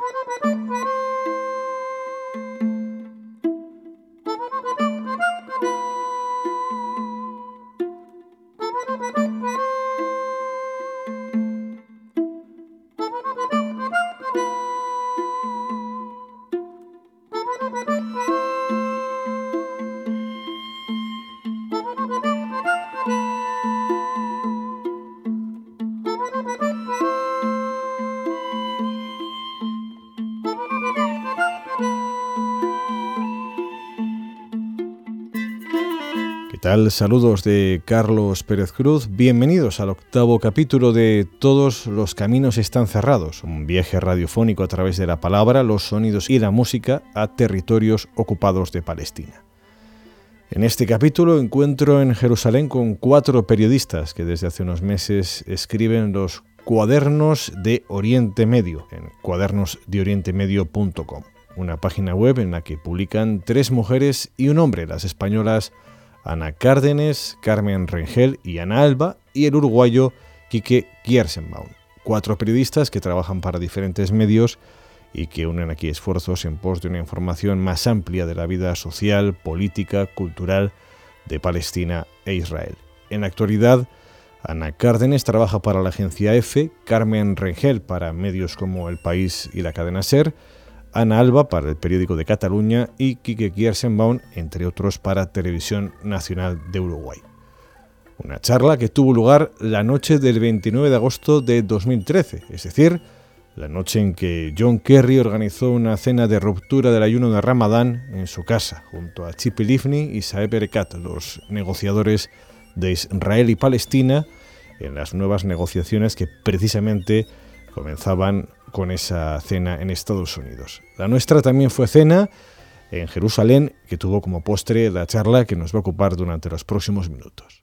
Saludos de Carlos Pérez Cruz, bienvenidos al 8º capítulo de Todos los caminos están cerrados, un viaje radiofónico a través de la palabra, los sonidos y la música a territorios ocupados de Palestina. En este capítulo encuentro en Jerusalén con 4 periodistas que desde hace unos meses escriben los Cuadernos de Oriente Medio en cuadernosdeorientemedio.com, una página web en la que publican 3 mujeres y un hombre, las españolas Ana Cárdenes, Carmen Rengel y Ana Alba, y el uruguayo Quique Kierszenbaum. 4 periodistas que trabajan para diferentes medios y que unen aquí esfuerzos en pos de una información más amplia de la vida social, política, cultural de Palestina e Israel. En la actualidad, Ana Cárdenes trabaja para la agencia EFE, Carmen Rengel para medios como El País y la cadena SER, Ana Alba para el periódico de Cataluña y Quique Kierszenbaum, entre otros, para Televisión Nacional de Uruguay. Una charla que tuvo lugar la noche del 29 de agosto de 2013, es decir, la noche en que John Kerry organizó una cena de ruptura del ayuno de Ramadán en su casa, junto a Tzipi Livni y Saeb Erekat, los negociadores de Israel y Palestina, en las nuevas negociaciones que precisamente comenzaban con esa cena en Estados Unidos. La nuestra también fue cena en Jerusalén, que tuvo como postre la charla que nos va a ocupar durante los próximos minutos.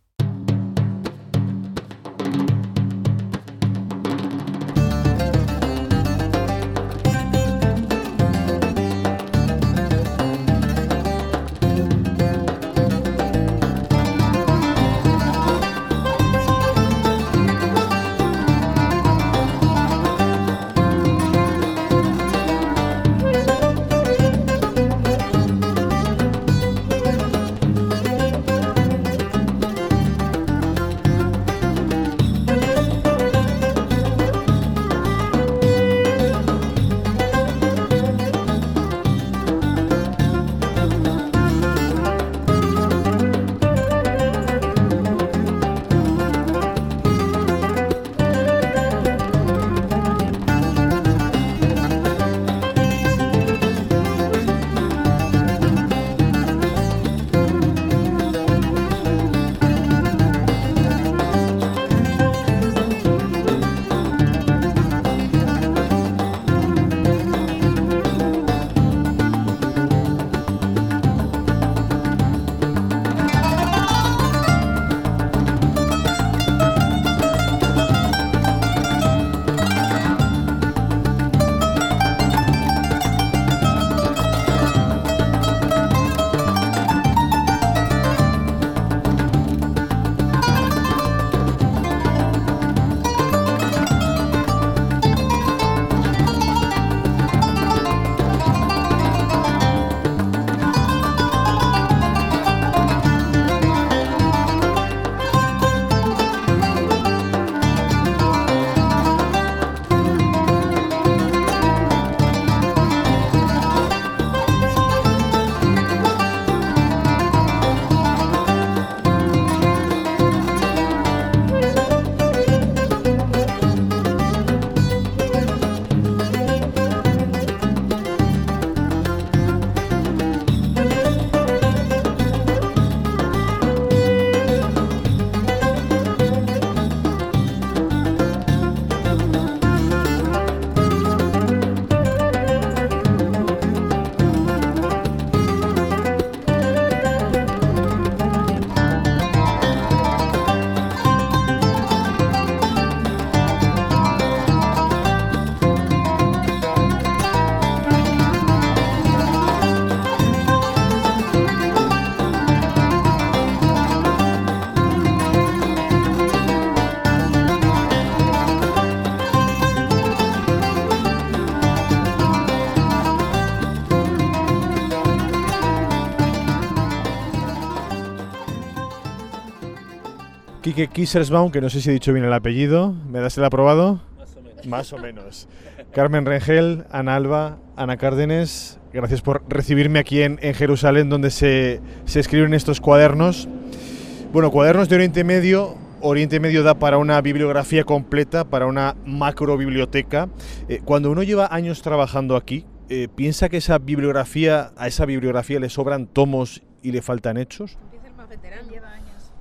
Quique Kiersbaum, que no sé si he dicho bien el apellido. ¿Me das el aprobado? Más o menos. Más o menos. Carmen Rengel, Ana Alba, Ana Cárdenes, gracias por recibirme aquí en Jerusalén, donde se escriben estos cuadernos. Bueno, cuadernos de Oriente Medio. Oriente Medio da para una bibliografía completa, para una macro biblioteca. Cuando uno lleva años trabajando aquí, ¿piensa que a esa bibliografía le sobran tomos y le faltan hechos? Empieza el más veterano, lleva años.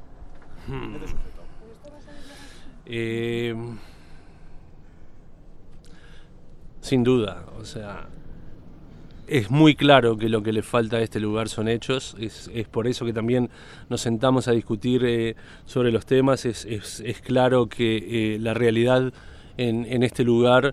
Sin duda, o sea, es muy claro que lo que le falta a este lugar son hechos, es por eso que también nos sentamos a discutir sobre los temas, es claro que la realidad en este lugar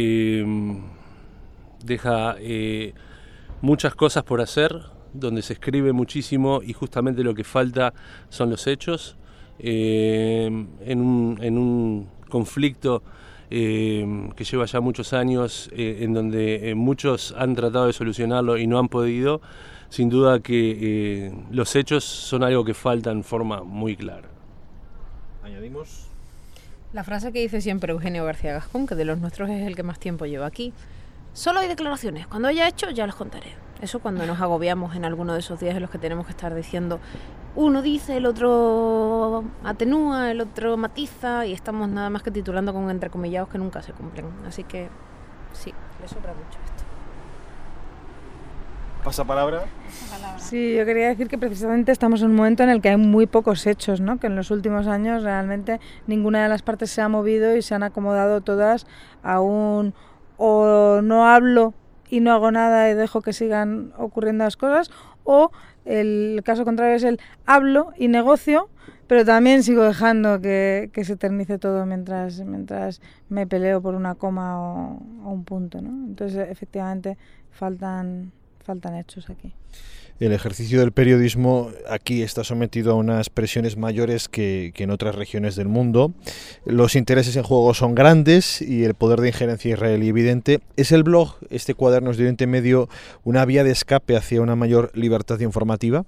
deja muchas cosas por hacer, donde se escribe muchísimo y justamente lo que falta son los hechos, en un conflicto que lleva ya muchos años, en donde muchos han tratado de solucionarlo y no han podido. Sin duda que los hechos son algo que falta en forma muy clara. Añadimos la frase que dice siempre Eugenio García Gascón, que de los nuestros es el que más tiempo lleva aquí: solo hay declaraciones, cuando haya hecho ya los contaré. Eso cuando nos agobiamos en alguno de esos días en los que tenemos que estar diciendo, uno dice, el otro atenúa, el otro matiza, y estamos nada más que titulando con entrecomillados que nunca se cumplen. Así que sí, le sobra mucho esto. ¿Pasapalabra? Sí, yo quería decir que precisamente estamos en un momento en el que hay muy pocos hechos, ¿no? Que en los últimos años realmente ninguna de las partes se ha movido y se han acomodado todas a un o no hablo y no hago nada y dejo que sigan ocurriendo las cosas, o el caso contrario es el hablo y negocio, pero también sigo dejando que se eternice todo mientras me peleo por una coma o un punto, ¿no? Entonces, efectivamente, faltan hechos aquí. El ejercicio del periodismo aquí está sometido a unas presiones mayores que en otras regiones del mundo. Los intereses en juego son grandes y el poder de injerencia israelí evidente. ¿Es el blog, este Cuadernos de Oriente Medio, una vía de escape hacia una mayor libertad informativa?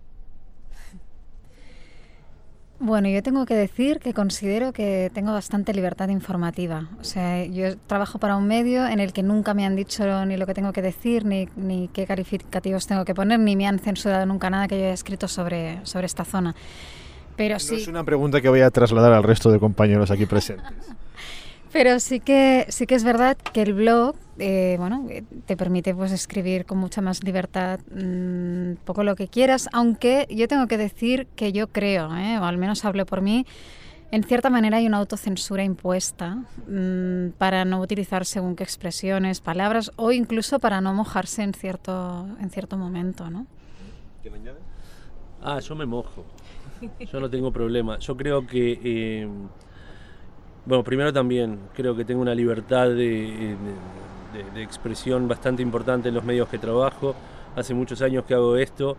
Bueno, yo tengo que decir que considero que tengo bastante libertad informativa. O sea, yo trabajo para un medio en el que nunca me han dicho ni lo que tengo que decir, ni qué calificativos tengo que poner, ni me han censurado nunca nada que yo haya escrito sobre esta zona. Pero sí, no es una pregunta que voy a trasladar al resto de compañeros aquí presentes. Pero sí que es verdad que el blog te permite pues escribir con mucha más libertad poco lo que quieras, aunque yo tengo que decir que yo creo, o al menos hablo por mí, en cierta manera hay una autocensura impuesta para no utilizar según qué expresiones, palabras, o incluso para no mojarse en cierto momento, ¿no? ¿Quién añade? Yo me mojo, yo no tengo problema. Yo creo que bueno, primero también creo que tengo una libertad de expresión bastante importante en los medios que trabajo. Hace muchos años que hago esto,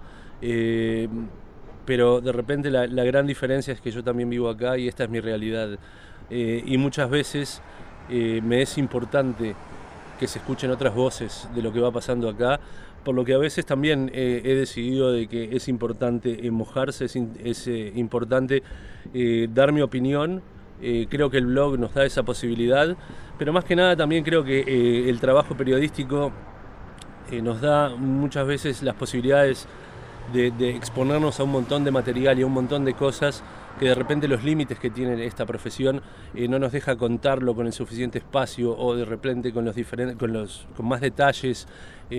pero de repente la gran diferencia es que yo también vivo acá y esta es mi realidad. Y muchas veces me es importante que se escuchen otras voces de lo que va pasando acá, por lo que a veces también he decidido de que es importante mojarse, es importante dar mi opinión. Creo que el blog nos da esa posibilidad, pero más que nada también creo que el trabajo periodístico nos da muchas veces las posibilidades de exponernos a un montón de material y a un montón de cosas que de repente los límites que tiene esta profesión no nos deja contarlo con el suficiente espacio o de repente con más detalles,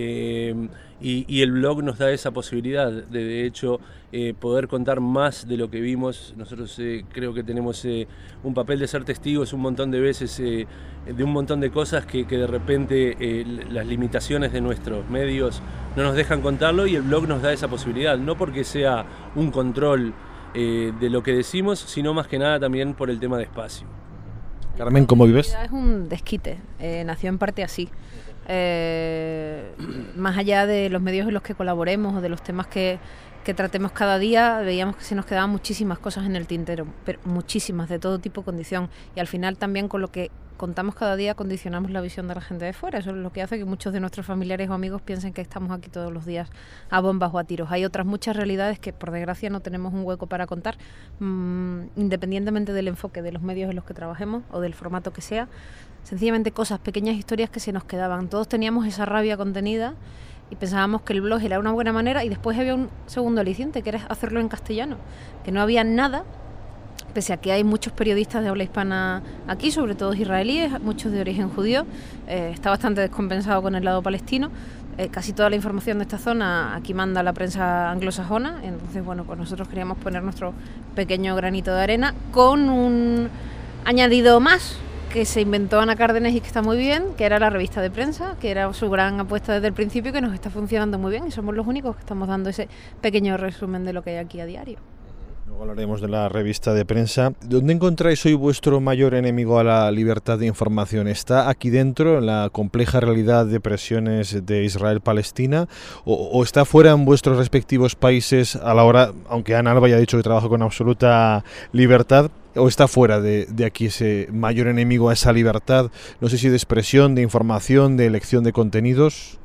y el blog nos da esa posibilidad de hecho poder contar más de lo que vimos. Nosotros creo que tenemos un papel de ser testigos un montón de veces de un montón de cosas que de repente las limitaciones de nuestros medios no nos dejan contarlo, y el blog nos da esa posibilidad, no porque sea un control de lo que decimos, sino más que nada también por el tema de espacio. Carmen, ¿cómo vives? Es un desquite, nació en parte así. más allá de los medios en los que colaboremos o de los temas que tratemos cada día, veíamos que se nos quedaban muchísimas cosas en el tintero, pero muchísimas, de todo tipo, condición, y al final también con lo que contamos cada día condicionamos la visión de la gente de fuera. Eso es lo que hace que muchos de nuestros familiares o amigos piensen que estamos aquí todos los días a bombas o a tiros. Hay otras muchas realidades que por desgracia no tenemos un hueco para contar, independientemente del enfoque de los medios en los que trabajemos o del formato que sea, sencillamente cosas, pequeñas historias que se nos quedaban. Todos teníamos esa rabia contenida y pensábamos que el blog era una buena manera, y después había un segundo aliciente, que era hacerlo en castellano, que no había nada, pese a que hay muchos periodistas de habla hispana aquí, sobre todo israelíes, muchos de origen judío. Está bastante descompensado con el lado palestino. Casi toda la información de esta zona aquí manda la prensa anglosajona, entonces bueno, pues nosotros queríamos poner nuestro pequeño granito de arena con un añadido más que se inventó Ana Cárdenes y que está muy bien, que era la revista de prensa, que era su gran apuesta desde el principio, que nos está funcionando muy bien, y somos los únicos que estamos dando ese pequeño resumen de lo que hay aquí a diario. Luego hablaremos de la revista de prensa. ¿Dónde encontráis hoy vuestro mayor enemigo a la libertad de información? ¿Está aquí dentro, en la compleja realidad de presiones de Israel-Palestina, o está fuera en vuestros respectivos países a la hora, aunque Ana Alba ya ha dicho que trabaja con absoluta libertad, o está fuera de aquí ese mayor enemigo a esa libertad? No sé si de expresión, de información, de elección de contenidos.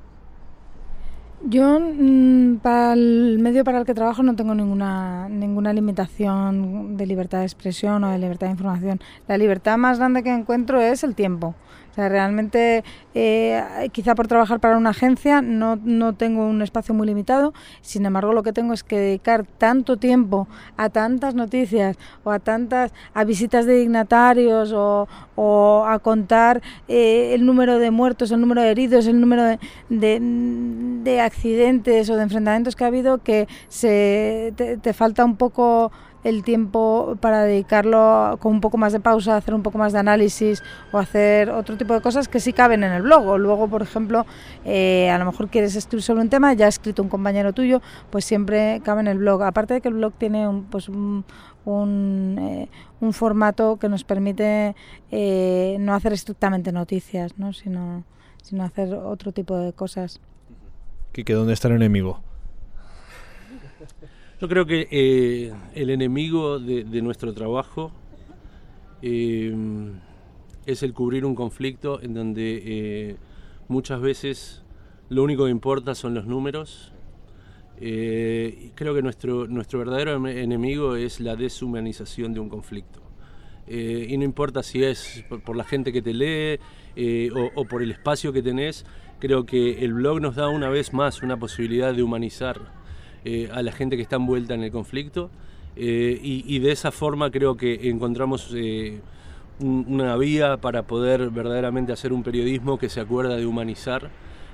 Yo, para el medio para el que trabajo, no tengo ninguna limitación de libertad de expresión o de libertad de información. La libertad más grande que encuentro es el tiempo. O sea, realmente, quizá por trabajar para una agencia no tengo un espacio muy limitado. Sin embargo, lo que tengo es que dedicar tanto tiempo a tantas noticias o a visitas de dignatarios o a contar el número de muertos, el número de heridos, el número de accidentes o de enfrentamientos que ha habido, que te falta un poco el tiempo para dedicarlo con un poco más de pausa, hacer un poco más de análisis o hacer otro tipo de cosas que sí caben en el blog. O luego, por ejemplo, a lo mejor quieres escribir sobre un tema, ya ha escrito un compañero tuyo, pues siempre cabe en el blog. Aparte de que el blog tiene un formato que nos permite no hacer estrictamente noticias, ¿no? sino hacer otro tipo de cosas. Quique, ¿dónde está el enemigo? Yo creo que el enemigo de nuestro trabajo es el cubrir un conflicto en donde muchas veces lo único que importa son los números. Creo que nuestro verdadero enemigo es la deshumanización de un conflicto. Y no importa si es por la gente que te lee o por el espacio que tenés, creo que el blog nos da una vez más una posibilidad de humanizar a la gente que está envuelta en el conflicto, y de esa forma creo que encontramos una vía para poder verdaderamente hacer un periodismo que se acuerda de humanizar.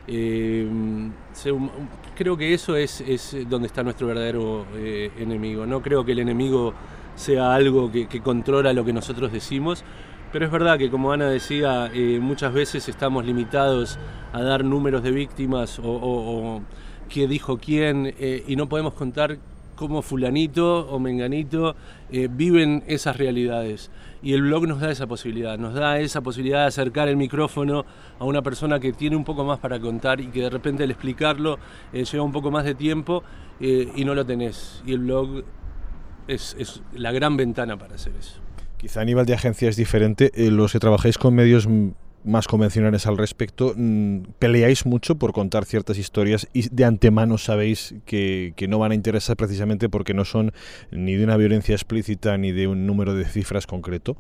Creo que eso es donde está nuestro verdadero enemigo. No creo que el enemigo sea algo que controla lo que nosotros decimos, pero es verdad que, como Ana decía, muchas veces estamos limitados a dar números de víctimas o qué dijo quién, y no podemos contar cómo fulanito o menganito viven esas realidades. Y el blog nos da esa posibilidad de acercar el micrófono a una persona que tiene un poco más para contar y que de repente al explicarlo lleva un poco más de tiempo y no lo tenés. Y el blog es la gran ventana para hacer eso. Quizá a nivel de agencia es diferente. Los que trabajáis con medios más convencionales al respecto, peleáis mucho por contar ciertas historias y de antemano sabéis que no van a interesar precisamente porque no son ni de una violencia explícita ni de un número de cifras concreto.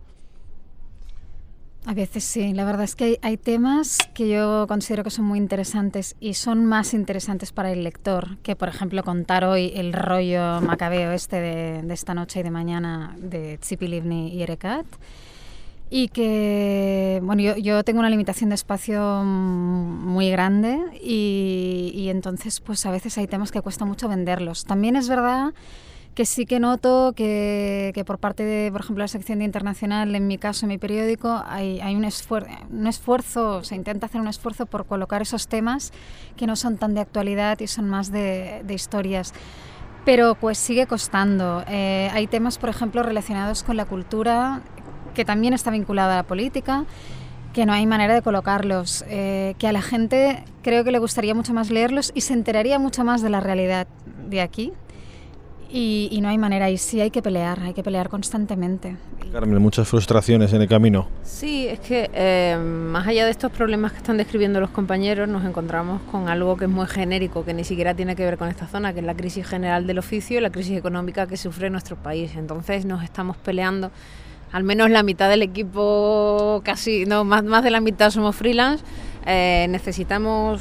A veces sí, la verdad es que hay temas que yo considero que son muy interesantes y son más interesantes para el lector que, por ejemplo, contar hoy el rollo macabeo de esta noche y de mañana de Tzipi Livni y Erekat. Y que, bueno, yo tengo una limitación de espacio muy grande y entonces pues a veces hay temas que cuesta mucho venderlos. También es verdad que sí que noto que por parte de, por ejemplo, la sección de internacional, en mi caso, en mi periódico, hay un esfuerzo, se intenta hacer un esfuerzo por colocar esos temas que no son tan de actualidad y son más de historias. Pero pues sigue costando. Hay temas, por ejemplo, relacionados con la cultura, que también está vinculada a la política, que no hay manera de colocarlos, que a la gente creo que le gustaría mucho más leerlos y se enteraría mucho más de la realidad de aquí. Y no hay manera, y sí hay que pelear constantemente. Carmen, muchas frustraciones en el camino. Sí, es que más allá de estos problemas que están describiendo los compañeros, nos encontramos con algo que es muy genérico, que ni siquiera tiene que ver con esta zona, que es la crisis general del oficio y la crisis económica que sufre nuestro país. Entonces nos estamos peleando, al menos la mitad del equipo, casi, no, más de la mitad somos freelance. Necesitamos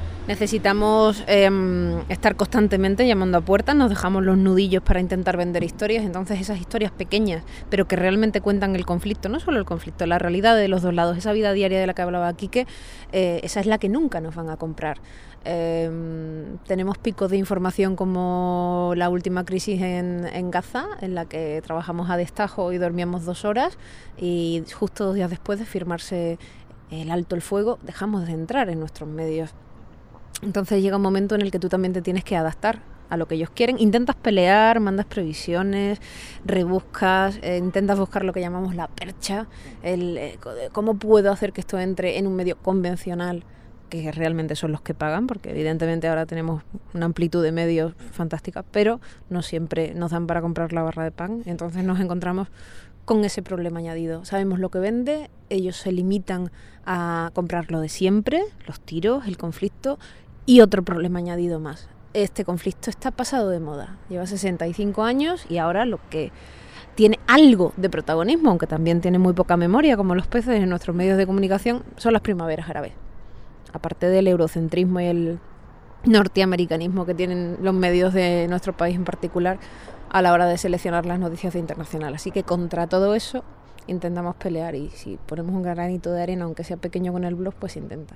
estar constantemente llamando a puertas, nos dejamos los nudillos para intentar vender historias, entonces esas historias pequeñas, pero que realmente cuentan el conflicto, no solo el conflicto, la realidad de los dos lados, esa vida diaria de la que hablaba Quique, esa es la que nunca nos van a comprar. Tenemos picos de información como la última crisis en Gaza, en la que trabajamos a destajo y dormíamos 2 horas, y justo 2 días después de firmarse el alto el fuego, dejamos de entrar en nuestros medios. Entonces llega un momento en el que tú también te tienes que adaptar a lo que ellos quieren. Intentas pelear, mandas previsiones, rebuscas, intentas buscar lo que llamamos la percha, cómo puedo hacer que esto entre en un medio convencional, que realmente son los que pagan, porque evidentemente ahora tenemos una amplitud de medios fantástica, pero no siempre nos dan para comprar la barra de pan. Entonces nos encontramos con ese problema añadido. Sabemos lo que vende, ellos se limitan a comprar lo de siempre, los tiros, el conflicto, y otro problema añadido más. Este conflicto está pasado de moda, lleva 65 años y ahora lo que tiene algo de protagonismo, aunque también tiene muy poca memoria, como los peces en nuestros medios de comunicación, son las primaveras árabes. Aparte del eurocentrismo y el norteamericanismo que tienen los medios de nuestro país en particular a la hora de seleccionar las noticias internacionales. Así que contra todo eso intentamos pelear, y si ponemos un granito de arena, aunque sea pequeño con el blog, pues intenta.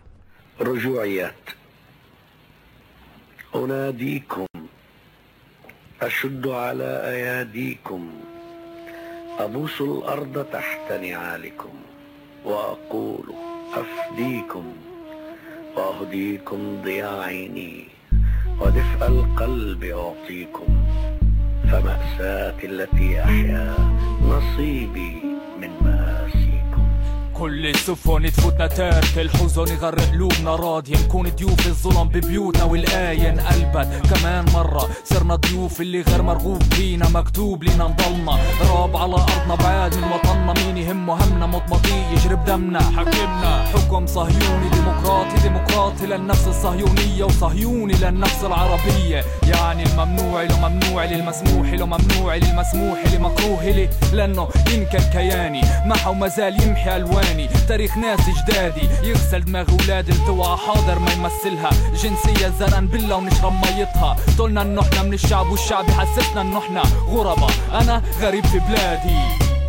أناديكم أشد على أياديكم أبوس الأرض تحت نعالكم وأقول أفديكم وأهديكم ضياء عيني ودفء القلب أعطيكم فمأساتي التي أحيا نصيبي من مآسيكم. كل السفن تفوتنا تارك الحزن يغرق قلوبنا راضية نكون ضيوف الظلم ببيوتنا والآية انقلبت كمان مرة صرنا ضيوف اللي غير مرغوب فينا مكتوب لينا نضلنا راب على أرضنا بعاد من وطننا مين يهمه همنا مضمضي يجرب دمنا حكمنا حكم صهيوني ديمقراطي للنفس الصهيونية وصهيوني للنفس العربية يعني الممنوع له ممنوع للمسموح له ممنوع للمسموح لمكروه لي لأنه ينكر كياني محا وما زال يمحي ألوان تاريخ ناس جدادي يغسل دماغ ولاد التوعى حاضر ما يمثلها جنسية زرقان بالله ونشرب ميتها طولنا انه احنا من الشعب والشعب يحسسنا انه احنا غربة انا غريب في بلادي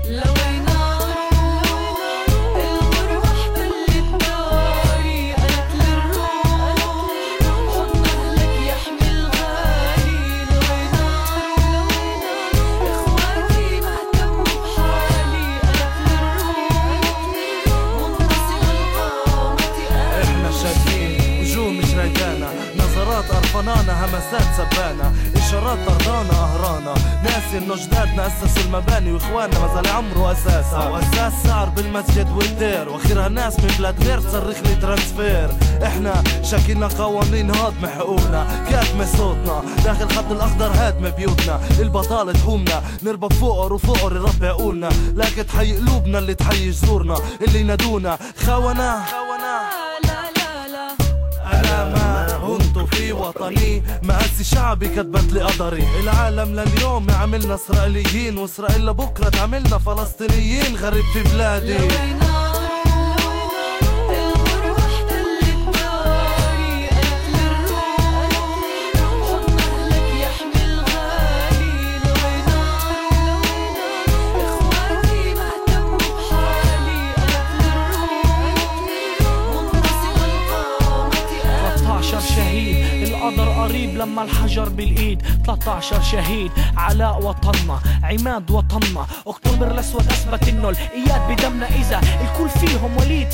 أرفنانا همسات سبانا إشارات طردانا أهرانا ناسي إنه جدادنا أسسوا المباني وإخواننا ما زال عمره أساسها وأساس سعر بالمسجد والدير وأخيرها ناس من بلاد غير تصرخ لي ترانسفير إحنا شاكينا قوانين هاضمة حقوقنا كاتمة صوتنا داخل خط الأخضر هادمة بيوتنا البطالة تحومنا نربى فقر وفقر يربي عقولنا لكن تحيي قلوبنا اللي تحيي جذورنا اللي ينادونا خونة أنا ما هنت في وطني مقاسي شعبي كتبت لي قدري العالم لليوم عملنا إسرائيليين وإسرائيل لبكرة تعملنا فلسطينيين غريب في بلادي قريب لما الحجر بالايد 13 شهيد علاء وطننا عماد وطننا اكتوبر الاسود اثبت انه الاياد بدمنا اذا الكل فيهم وليد تحت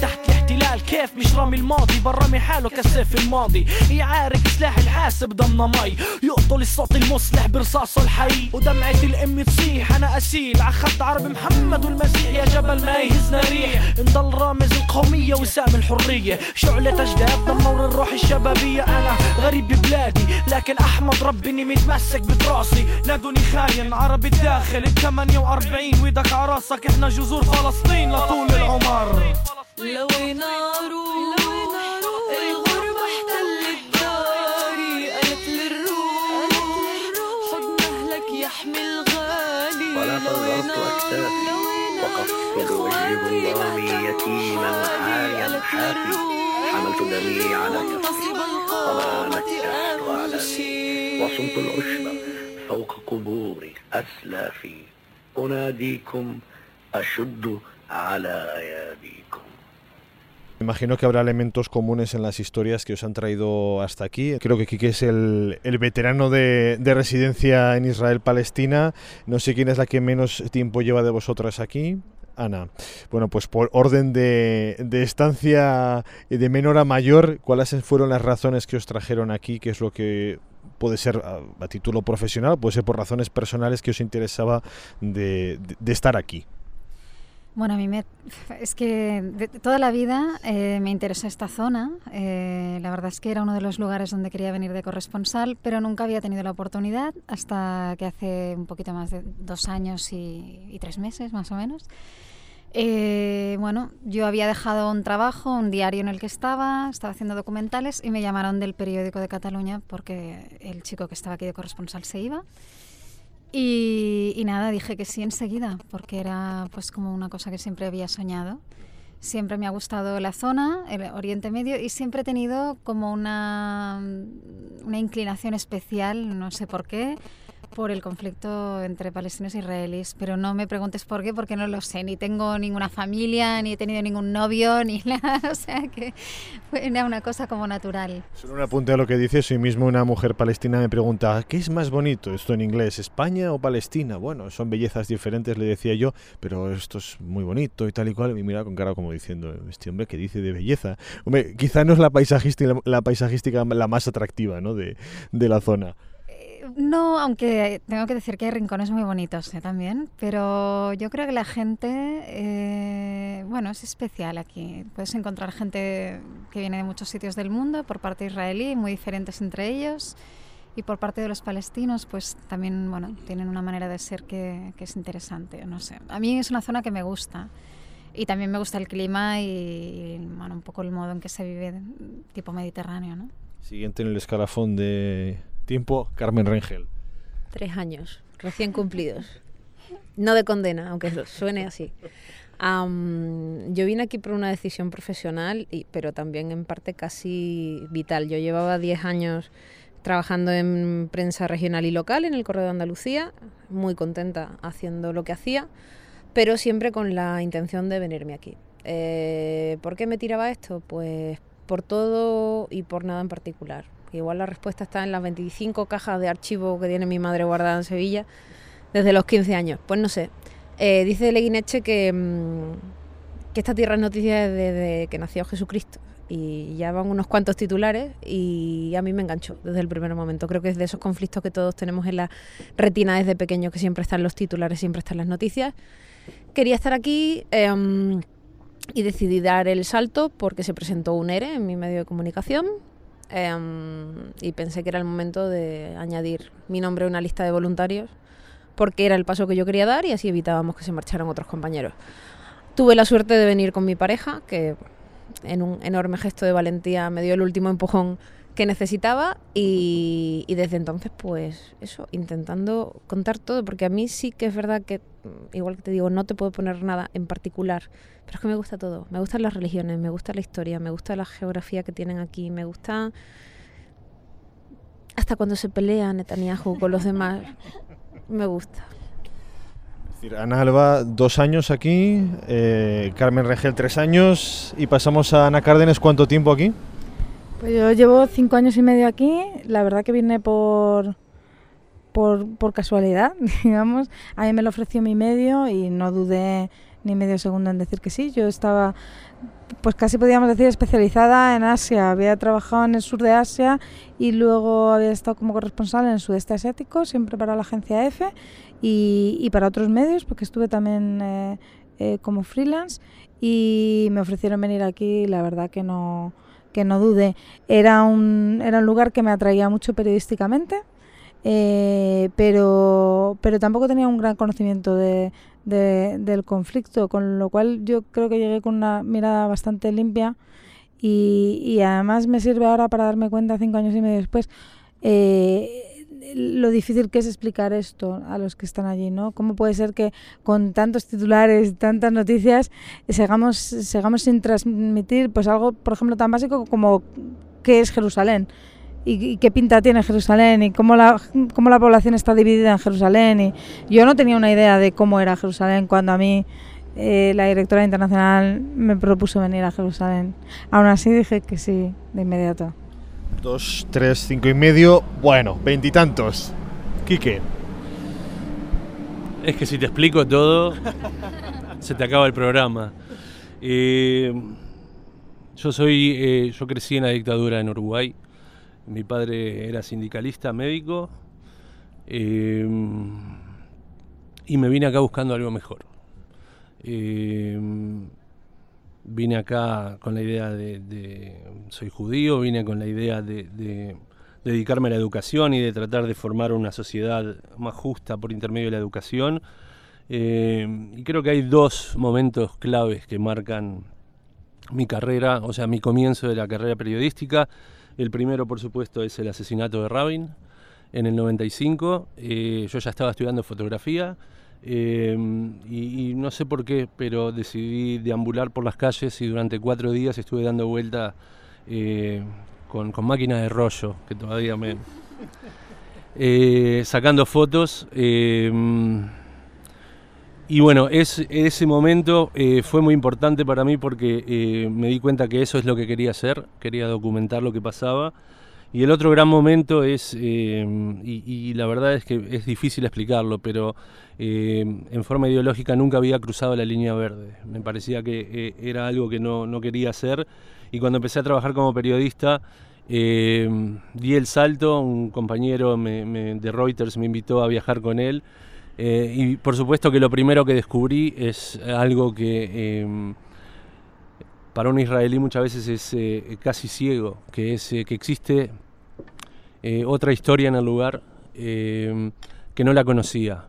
الاحتلال كيف مش رامي الماضي برامي حاله كالسيف الماضي يعارك سلاح الحاسب ضمن مي يقتل الصوت المصلح برصاصه الحي ودمعة الام تصيح انا اسيل عخد عرب محمد والمسيح يا جبل ما يهزنا ريح نضل رامز القومية وسام الحرية شعلة اجداد دمر الروح الشبابية انا غريب ببلادي لكن احمد ربي اني متمسك بتراسي نادوني خاين عربي الداخل ال 48 ويدك عراسك احنا جذور فلسطين لطول العمر لو نارو الغربة احتلت داري قالت للروح حضن اهلك يحمي الغالي ولا طلعت اكتافي وقفت وجه ظلامي يتيما عاريا حافي حملت دمي على كفي وما نكحت اعلامي وصمت العشب فوق قبور اسلافي اناديكم اشد على اياديكم. Imagino que habrá elementos comunes en las historias que os han traído hasta aquí. Creo que Quique es el veterano de residencia en Israel-Palestina. No sé quién es la que menos tiempo lleva de vosotras aquí. Ana. Bueno, pues por orden de estancia de menor a mayor, ¿cuáles fueron las razones que os trajeron aquí? ¿Qué es lo que puede ser a título profesional, puede ser por razones personales que os interesaba de estar aquí? Bueno, a mí es que de toda la vida me interesa esta zona. La verdad es que era uno de los lugares donde quería venir de corresponsal, pero nunca había tenido la oportunidad hasta que hace un poquito más de 2 años y 3 meses, más o menos. Bueno, yo había dejado un trabajo, un diario en el que estaba haciendo documentales y me llamaron del Periódico de Cataluña porque el chico que estaba aquí de corresponsal se iba. Y nada, dije que sí enseguida, porque era pues como una cosa que siempre había soñado. Siempre me ha gustado la zona, el Oriente Medio, y siempre he tenido como una inclinación especial, no sé por qué, por el conflicto entre palestinos e israelíes. Pero no me preguntes por qué, porque no lo sé. Ni tengo ninguna familia, ni he tenido ningún novio, ni nada. O sea que era una cosa como natural. Solo un apunte a lo que dices. Hoy mismo una mujer palestina me pregunta ¿qué es más bonito? Esto en inglés, ¿España o Palestina? Bueno, son bellezas diferentes, le decía yo, pero esto es muy bonito y tal y cual. Y mira con cara como diciendo, este hombre que dice de belleza. Hombre, quizá no es la paisajística la más atractiva, ¿no? de la zona. No, aunque tengo que decir que hay rincones muy bonitos también, pero yo creo que la gente, bueno, es especial aquí. Puedes encontrar gente que viene de muchos sitios del mundo, por parte israelí, muy diferentes entre ellos, y por parte de los palestinos, pues también, bueno, tienen una manera de ser que es interesante, no sé. A mí es una zona que me gusta, y también me gusta el clima y bueno, un poco el modo en que se vive tipo mediterráneo, ¿no? Siguiente en el escalafón de tiempo, Carmen Rengel. 3 años, recién cumplidos. No de condena, aunque suene así. Yo vine aquí por una decisión profesional, pero también en parte casi vital. Yo llevaba 10 años trabajando en prensa regional y local en el Correo de Andalucía, muy contenta haciendo lo que hacía, pero siempre con la intención de venirme aquí. ¿Por qué me tiraba esto? Pues por todo y por nada en particular. Igual la respuesta está en las 25 cajas de archivo que tiene mi madre guardada en Sevilla desde los 15 años. Pues no sé. Dice Leguineche que esta tierra es noticia desde que nació Jesucristo. Y ya van unos cuantos titulares y a mí me enganchó desde el primer momento. Creo que es de esos conflictos que todos tenemos en la retina desde pequeños, que siempre están los titulares, siempre están las noticias. Quería estar aquí y decidí dar el salto porque se presentó un ERE en mi medio de comunicación. Y pensé que era el momento de añadir mi nombre a una lista de voluntarios porque era el paso que yo quería dar y así evitábamos que se marcharan otros compañeros. Tuve la suerte de venir con mi pareja, que en un enorme gesto de valentía me dio el último empujón que necesitaba y desde entonces pues eso, intentando contar todo, porque a mí sí que es verdad que, igual que te digo, no te puedo poner nada en particular, pero es que me gusta todo, me gustan las religiones, me gusta la historia, me gusta la geografía que tienen aquí, me gusta hasta cuando se pelea Netanyahu con los demás, me gusta. Es decir, Ana Alba, 2 años aquí, Carmen Rengel 3 años y pasamos a Ana Cárdenes, ¿cuánto tiempo aquí? Pues yo llevo 5 años y medio aquí, la verdad que vine por casualidad, digamos. A mí me lo ofreció mi medio y no dudé medio segundo en decir que sí. Yo estaba, pues casi podríamos decir, especializada en Asia. Había trabajado en el sur de Asia y luego había estado como corresponsal en el sudeste asiático, siempre para la agencia EFE y para otros medios, porque estuve también como freelance, y me ofrecieron venir aquí y la verdad que no dudé. Era un lugar que me atraía mucho periodísticamente, pero tampoco tenía un gran conocimiento del conflicto, con lo cual yo creo que llegué con una mirada bastante limpia y además me sirve ahora para darme cuenta 5 años y medio después lo difícil que es explicar esto a los que están allí, ¿no? ¿Cómo puede ser que con tantos titulares, tantas noticias, sigamos sin transmitir pues algo, por ejemplo, tan básico como qué es Jerusalén y qué pinta tiene Jerusalén y cómo la población está dividida en Jerusalén? Y yo no tenía una idea de cómo era Jerusalén cuando a mí la directora internacional me propuso venir a Jerusalén. Aún así dije que sí, de inmediato. 2, 3, 5 y medio, bueno, 20 y tantos. Quique. Es que si te explico todo, se te acaba el programa. Yo crecí en la dictadura en Uruguay. Mi padre era sindicalista, médico, y me vine acá buscando algo mejor. Vine acá con la idea soy judío, vine con la idea de dedicarme a la educación y de tratar de formar una sociedad más justa por intermedio de la educación. Y creo que hay 2 momentos claves que marcan mi carrera, o sea, mi comienzo de la carrera periodística. El primero, por supuesto, es el asesinato de Rabin en el 95. Yo ya estaba estudiando fotografía. Y no sé por qué, pero decidí deambular por las calles y durante 4 días estuve dando vuelta con máquina de rollo, que todavía sacando fotos. Y bueno, ese momento fue muy importante para mí porque me di cuenta que eso es lo que quería hacer, quería documentar lo que pasaba. Y el otro gran momento es, y la verdad es que es difícil explicarlo, pero en forma ideológica nunca había cruzado la línea verde. Me parecía que era algo que no quería hacer, y cuando empecé a trabajar como periodista di el salto. Un compañero de Reuters me invitó a viajar con él, y por supuesto que lo primero que descubrí es algo que para un israelí muchas veces es casi ciego, que es que existe otra historia en el lugar que no la conocía.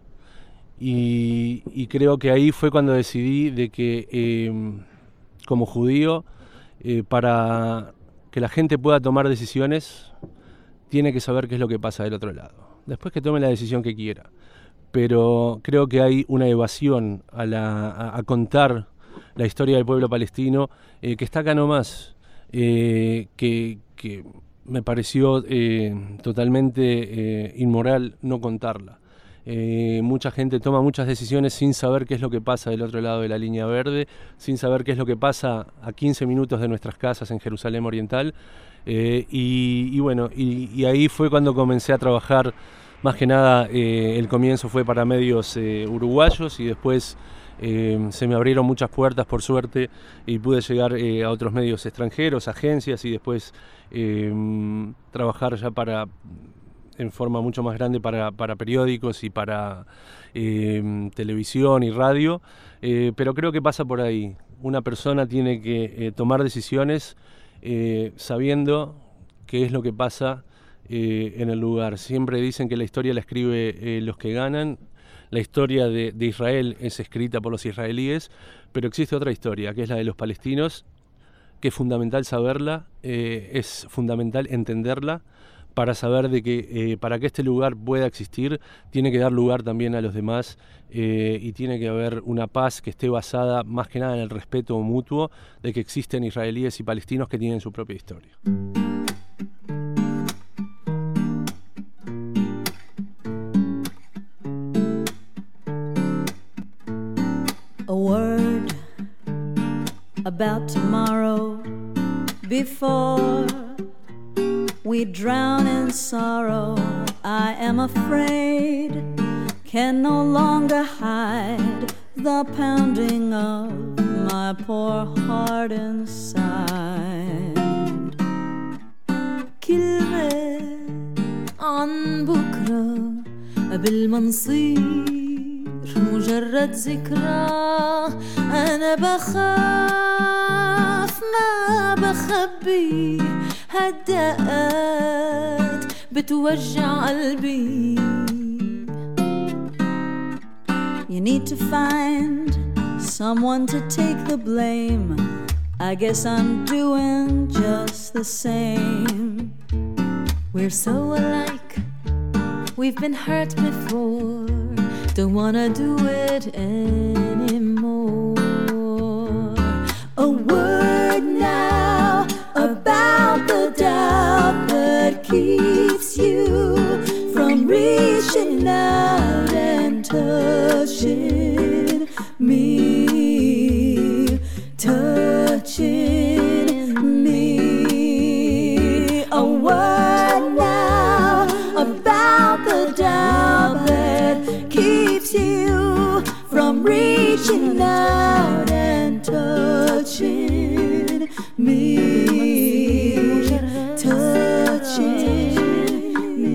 Y creo que ahí fue cuando decidí de que como judío, para que la gente pueda tomar decisiones, tiene que saber qué es lo que pasa del otro lado. Después que tome la decisión que quiera. Pero creo que hay una evasión a contar la historia del pueblo palestino que está acá nomás, que me pareció totalmente inmoral no contarla. Mucha gente toma muchas decisiones sin saber qué es lo que pasa del otro lado de la línea verde, sin saber qué es lo que pasa a 15 minutos de nuestras casas en Jerusalén Oriental. Y ahí fue cuando comencé a trabajar. Más que nada, el comienzo fue para medios uruguayos, y después se me abrieron muchas puertas, por suerte, y pude llegar a otros medios extranjeros, agencias, y después trabajar ya en forma mucho más grande para periódicos y para televisión y radio. Pero creo que pasa por ahí. Una persona tiene que tomar decisiones sabiendo qué es lo que pasa en el lugar. Siempre dicen que la historia la escribe los que ganan. La historia de Israel es escrita por los israelíes, pero existe otra historia, que es la de los palestinos, que es fundamental saberla, es fundamental entenderla, para saber de que para que este lugar pueda existir, tiene que dar lugar también a los demás, y tiene que haber una paz que esté basada más que nada en el respeto mutuo de que existen israelíes y palestinos que tienen su propia historia. A word about tomorrow before we drown in sorrow. I am afraid, can no longer hide the pounding of my poor heart inside. كلمة عن بكرة قبل ما نصير مجرد ذكرى. أنا بخاف ما بخبي هالدقات بتوجع قلبي. You need to find someone to take the blame. I guess I'm doing just the same. We're so alike, we've been hurt before. Don't wanna do it anymore. A word now about the doubt that keeps you from reaching out and touching me, touching me. A word now about the doubt that keeps you from reaching out and touching me, touching me.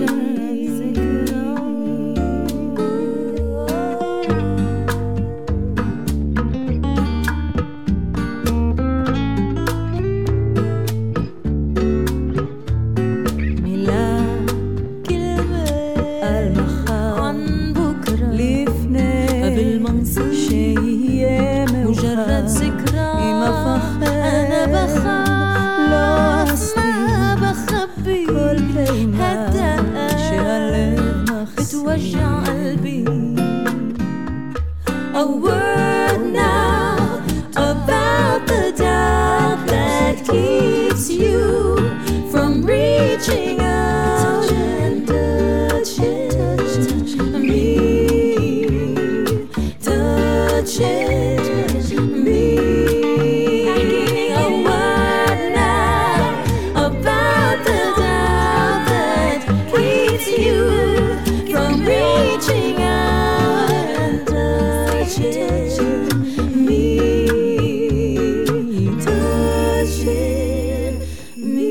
A word now about the doubt that keeps you from reaching out and touching me, touching me. A word now about the doubt that keeps you from reaching out and touching me, touching me.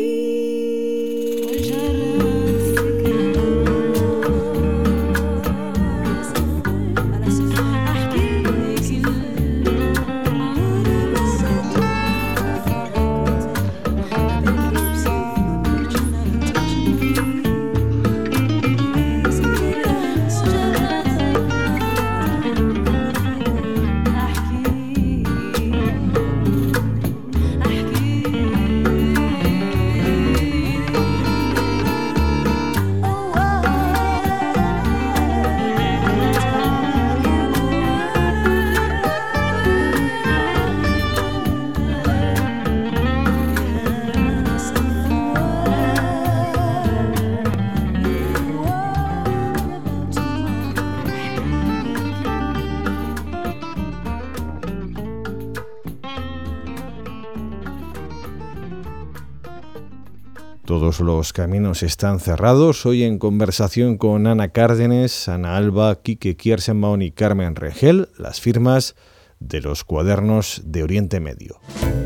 Todos los caminos están cerrados. Hoy en conversación con Ana Cárdenes, Ana Alba, Quique Kierszenbaum y Carmen Rengel, las firmas de los cuadernos de Oriente Medio.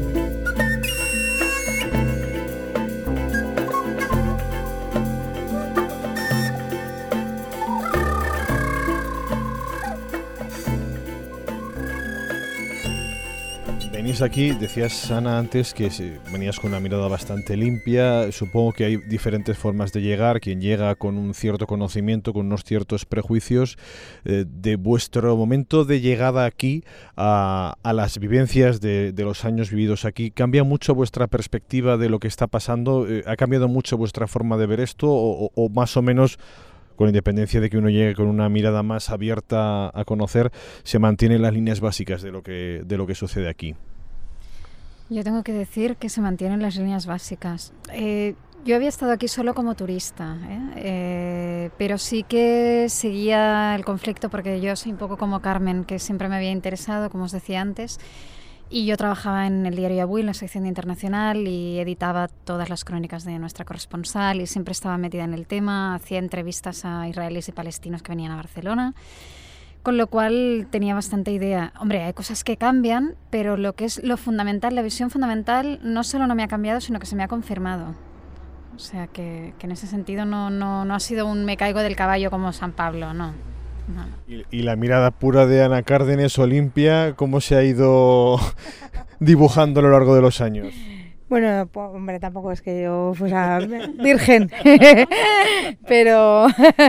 Venís aquí, decías Ana antes que venías con una mirada bastante limpia. Supongo que hay diferentes formas de llegar. Quien llega con un cierto conocimiento, con unos ciertos prejuicios. De vuestro momento de llegada aquí a las vivencias de los años vividos aquí, ¿cambia mucho vuestra perspectiva de lo que está pasando? ¿Ha cambiado mucho vuestra forma de ver esto? ¿O más o menos, con independencia de que uno llegue con una mirada más abierta a conocer, se mantienen las líneas básicas de lo que sucede aquí? Yo tengo que decir que se mantienen las líneas básicas. Yo había estado aquí solo como turista, pero sí que seguía el conflicto porque yo soy un poco como Carmen, que siempre me había interesado, como os decía antes, y yo trabajaba en el diario Avui, en la sección de internacional, y editaba todas las crónicas de nuestra corresponsal y siempre estaba metida en el tema, hacía entrevistas a israelíes y palestinos que venían a Barcelona. con lo cual tenía bastante idea. Hombre, hay cosas que cambian, pero lo que es lo fundamental, la visión fundamental, no solo no me ha cambiado, sino que se me ha confirmado. O sea que en ese sentido no ha sido un me caigo del caballo como San Pablo, no. Y la mirada pura de Ana Cárdenes, Olimpia, ¿cómo se ha ido dibujando a lo largo de los años? Bueno, hombre, tampoco es que yo fuera virgen, pero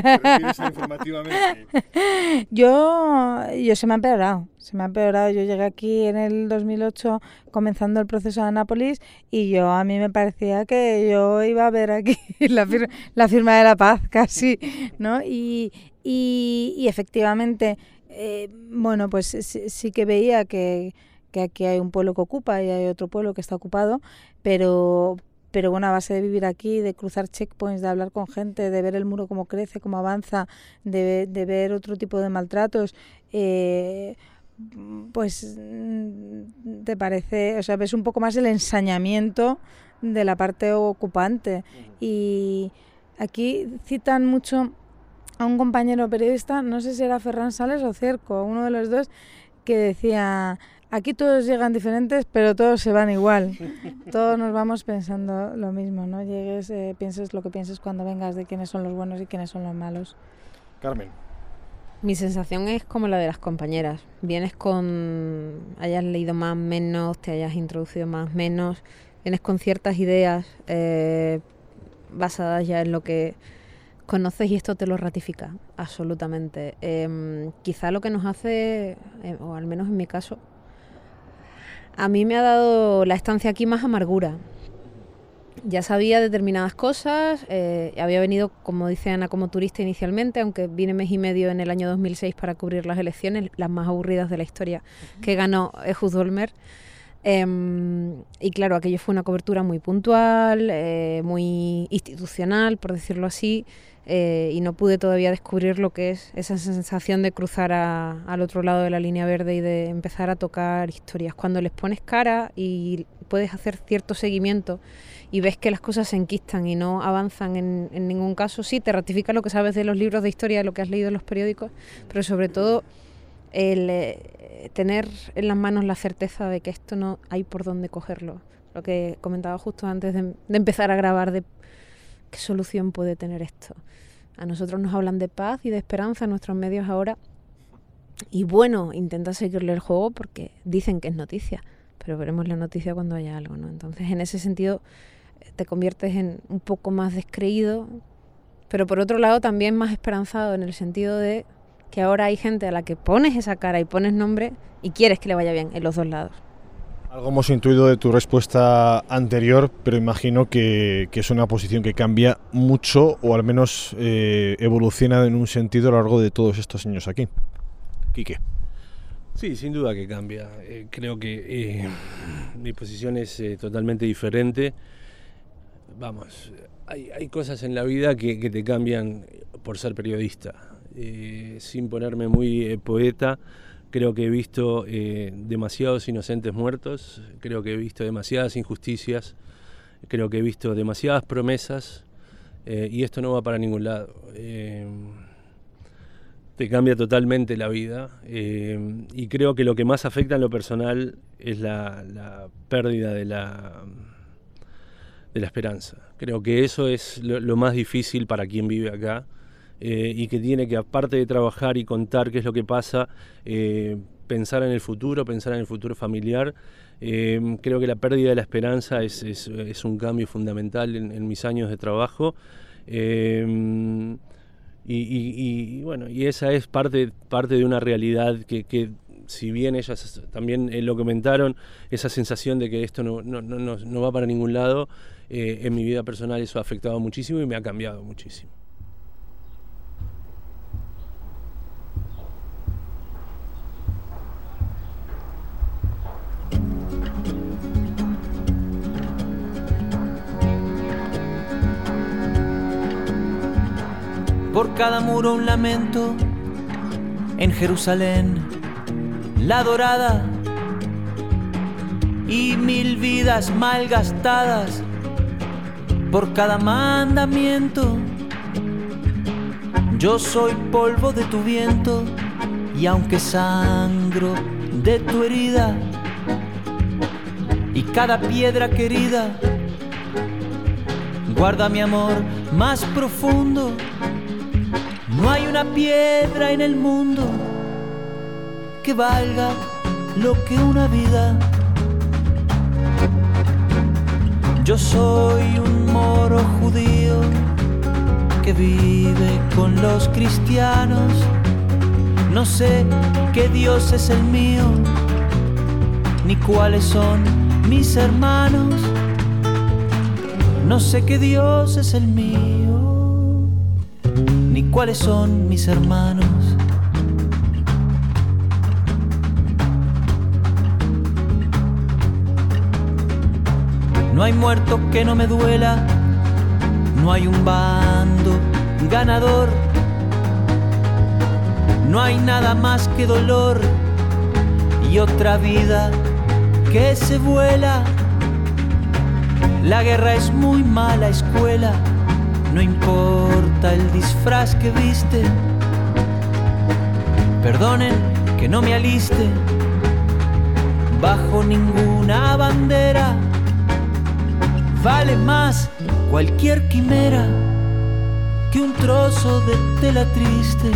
yo se me ha empeorado. Yo llegué aquí en el 2008 comenzando el proceso de Nápoles y a mí me parecía que yo iba a ver aquí la firma de la paz casi, ¿no? Y efectivamente, bueno, pues sí que veía que aquí hay un pueblo que ocupa y hay otro pueblo que está ocupado, pero bueno, a base de vivir aquí, de cruzar checkpoints, de hablar con gente, de ver el muro cómo crece, cómo avanza, de ver otro tipo de maltratos, pues te parece, o sea, ves un poco más el ensañamiento de la parte ocupante. Y aquí citan mucho a un compañero periodista, no sé si era Ferran Sales o Cerco, uno de los dos, que decía: aquí todos llegan diferentes, pero todos se van igual. Todos nos vamos pensando lo mismo, ¿no? Llegues, pienses lo que pienses cuando vengas, de quiénes son los buenos y quiénes son los malos. Carmen. Mi sensación es como la de las compañeras. Vienes hayas leído más, menos, te hayas introducido más, menos. Vienes con ciertas ideas basadas ya en lo que conoces y esto te lo ratifica, absolutamente. Quizá lo que nos hace, o al menos en mi caso, a mí me ha dado la estancia aquí más amargura. Ya sabía determinadas cosas, había venido, como dice Ana, como turista inicialmente, aunque vine mes y medio en el año 2006 para cubrir las elecciones, las más aburridas de la historia, que ganó Ehud Olmert. Y claro, aquello fue una cobertura muy puntual, muy institucional, por decirlo así, y no pude todavía descubrir lo que es esa sensación de cruzar al otro lado de la línea verde y de empezar a tocar historias. Cuando les pones cara y puedes hacer cierto seguimiento y ves que las cosas se enquistan y no avanzan en ningún caso, sí, te ratifica lo que sabes de los libros de historia, de lo que has leído en los periódicos, pero sobre todo el tener en las manos la certeza de que esto no hay por dónde cogerlo. Lo que comentaba justo antes de empezar a grabar, de qué solución puede tener esto. A nosotros nos hablan de paz y de esperanza en nuestros medios ahora. Y bueno, intenta seguirle el juego porque dicen que es noticia, pero veremos la noticia cuando haya algo, ¿no? Entonces, en ese sentido, te conviertes en un poco más descreído, pero por otro lado también más esperanzado, en el sentido de que ahora hay gente a la que pones esa cara y pones nombre y quieres que le vaya bien en los dos lados. Algo hemos intuido de tu respuesta anterior, pero imagino que es una posición que cambia mucho, o al menos evoluciona en un sentido a lo largo de todos estos años aquí. Quique. Sí, sin duda que cambia. Creo que mi posición es totalmente diferente. Vamos, hay cosas en la vida que te cambian por ser periodista. Sin ponerme muy poeta, creo que he visto demasiados inocentes muertos, creo que he visto demasiadas injusticias, creo que he visto demasiadas promesas, y esto no va para ningún lado. Te cambia totalmente la vida, y creo que lo que más afecta en lo personal es la pérdida de la esperanza. Creo que eso es lo más difícil para quien vive acá, y que tiene que, aparte de trabajar y contar qué es lo que pasa, pensar en el futuro familiar. Creo que la pérdida de la esperanza es un cambio fundamental en mis años de trabajo. Y bueno, y esa es parte de una realidad que si bien ellas también lo comentaron, esa sensación de que esto no va para ningún lado, en mi vida personal eso ha afectado muchísimo y me ha cambiado muchísimo. Por cada muro un lamento, en Jerusalén, la dorada, y 1000 vidas malgastadas, por cada mandamiento. Yo soy polvo de tu viento Y aunque sangro de tu herida y cada piedra querida guarda mi amor más profundo, no hay una piedra en el mundo que valga lo que una vida. Yo soy un moro judío que vive con los cristianos. No sé qué Dios es el mío, ni cuáles son mis hermanos. No sé qué Dios es el mío, ni cuáles son mis hermanos. No hay muerto que no me duela, no hay un bando ganador, no hay nada más que dolor y otra vida que se vuela. La guerra es muy mala escuela, no importa el disfraz que viste. Perdonen que no me aliste bajo ninguna bandera. Vale más cualquier quimera que un trozo de tela triste.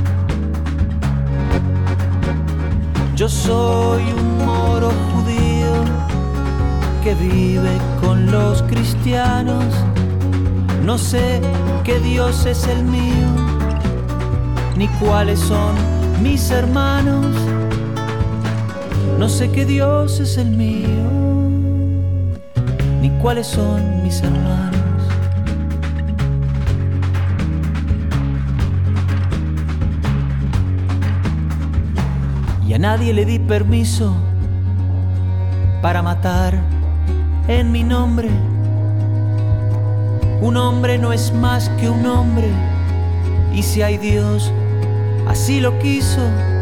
Yo soy un moro judío que vive con los cristianos. No sé qué Dios es el mío, ni cuáles son mis hermanos. No sé qué Dios es el mío, ni cuáles son mis hermanos. Y a nadie le di permiso para matar en mi nombre. Un hombre no es más que un hombre, y si hay Dios, así lo quiso.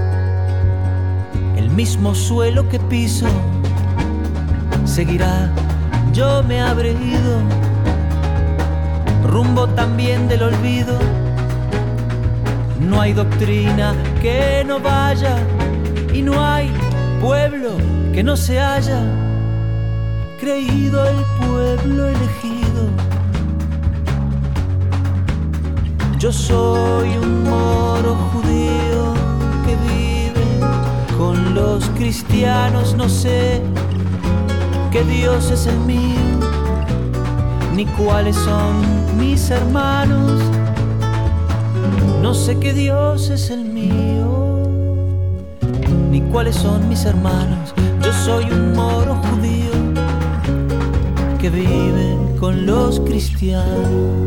El mismo suelo que piso seguirá. Yo me habré ido rumbo también del olvido. No hay doctrina que no vaya y no hay pueblo que no se haya creído el pueblo elegido. Yo soy un moro judío que vive con los cristianos. No sé qué Dios es el mío, ni cuáles son mis hermanos. No sé qué Dios es el mío, ni cuáles son mis hermanos. Yo soy un moro judío que vive con los cristianos.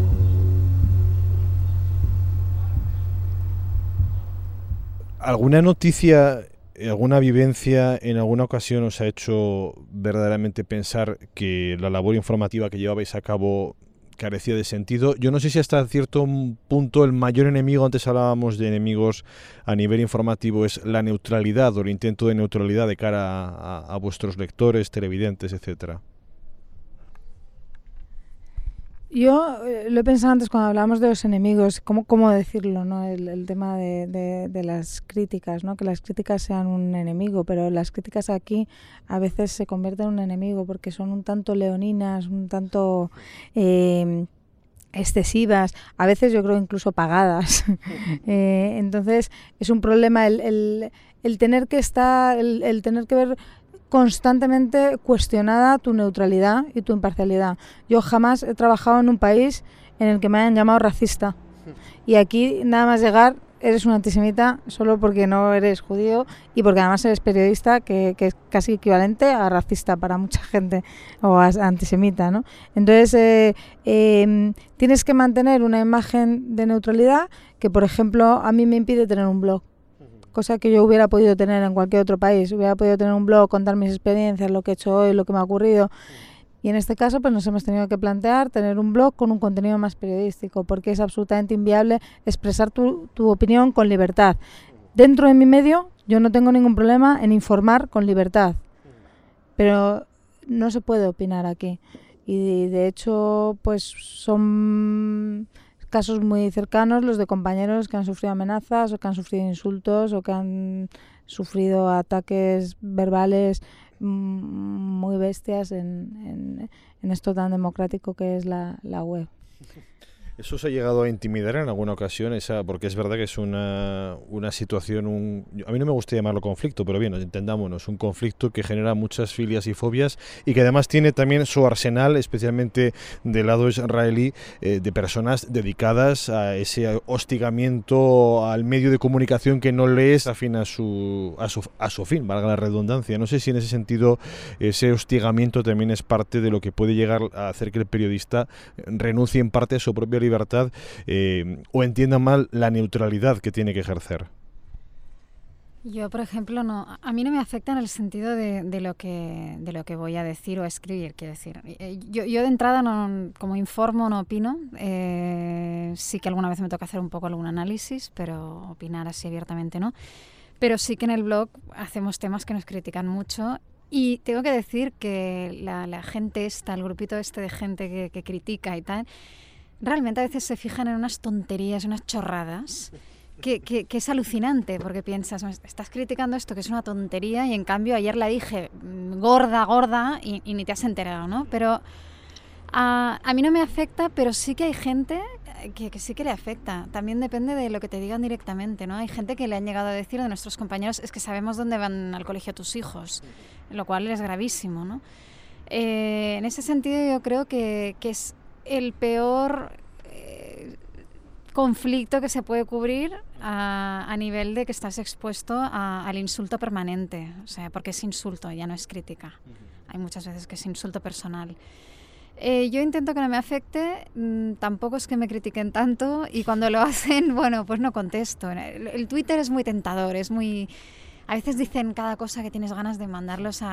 ¿Alguna noticia, alguna vivencia en alguna ocasión os ha hecho verdaderamente pensar que la labor informativa que llevabais a cabo carecía de sentido? Yo no sé si hasta cierto punto el mayor enemigo, antes hablábamos de enemigos a nivel informativo, es la neutralidad o el intento de neutralidad de cara a vuestros lectores, televidentes, etcétera. Yo lo he pensado antes cuando hablábamos de los enemigos, cómo decirlo, ¿no? El tema de las críticas, ¿no? Que las críticas sean un enemigo, pero las críticas aquí a veces se convierten en un enemigo porque son un tanto leoninas, un tanto excesivas, a veces yo creo incluso pagadas. Entonces es un problema el tener que estar, el tener que ver constantemente cuestionada tu neutralidad y tu imparcialidad. Yo jamás he trabajado en un país en el que me hayan llamado racista. Y aquí nada más llegar eres un antisemita solo porque no eres judío y porque además eres periodista, que es casi equivalente a racista para mucha gente, o a antisemita, ¿no? Entonces tienes que mantener una imagen de neutralidad que, por ejemplo, a mí me impide tener un blog. Cosa que yo hubiera podido tener en cualquier otro país. Hubiera podido tener un blog, contar mis experiencias, lo que he hecho hoy, lo que me ha ocurrido. Y en este caso pues nos hemos tenido que plantear tener un blog con un contenido más periodístico, porque es absolutamente inviable expresar tu opinión con libertad. Dentro de mi medio yo no tengo ningún problema en informar con libertad, pero no se puede opinar aquí. Y de hecho pues son casos muy cercanos, los de compañeros que han sufrido amenazas o que han sufrido insultos o que han sufrido ataques verbales muy bestias en esto tan democrático que es la web. ¿Eso se ha llegado a intimidar en alguna ocasión? Porque es verdad que es una situación, a mí no me gusta llamarlo conflicto, pero bien, entendámonos, un conflicto que genera muchas filias y fobias y que además tiene también su arsenal, especialmente del lado israelí, de personas dedicadas a ese hostigamiento al medio de comunicación que no le es afín a su fin, valga la redundancia. No sé si en ese sentido ese hostigamiento también es parte de lo que puede llegar a hacer que el periodista renuncie en parte a su propia libertad o entienda mal la neutralidad que tiene que ejercer. Yo, por ejemplo, a mí no me afecta en el sentido de lo que voy a decir o a escribir, quiero decir. Yo de entrada, como informo, no opino. Sí que alguna vez me toca hacer un poco algún análisis, pero opinar así abiertamente no. Pero sí que en el blog hacemos temas que nos critican mucho. Y tengo que decir que la gente el grupito de gente que critica y tal, realmente a veces se fijan en unas tonterías, unas chorradas, que es alucinante, porque piensas, estás criticando esto que es una tontería y en cambio ayer la dije gorda y ni te has enterado, ¿no? Pero a mí no me afecta, pero sí que hay gente que sí que le afecta. También depende de lo que te digan directamente, ¿no? Hay gente que le han llegado a decir de nuestros compañeros, es que sabemos dónde van al colegio tus hijos, lo cual es gravísimo, ¿no? En ese sentido yo creo que es el peor conflicto que se puede cubrir a nivel de que estás expuesto al insulto permanente, o sea, porque es insulto, ya no es crítica. Hay muchas veces que es insulto personal. Yo intento que no me afecte, tampoco es que me critiquen tanto y cuando lo hacen, bueno, pues no contesto. El Twitter es muy tentador, a veces dicen cada cosa que tienes ganas de mandarlos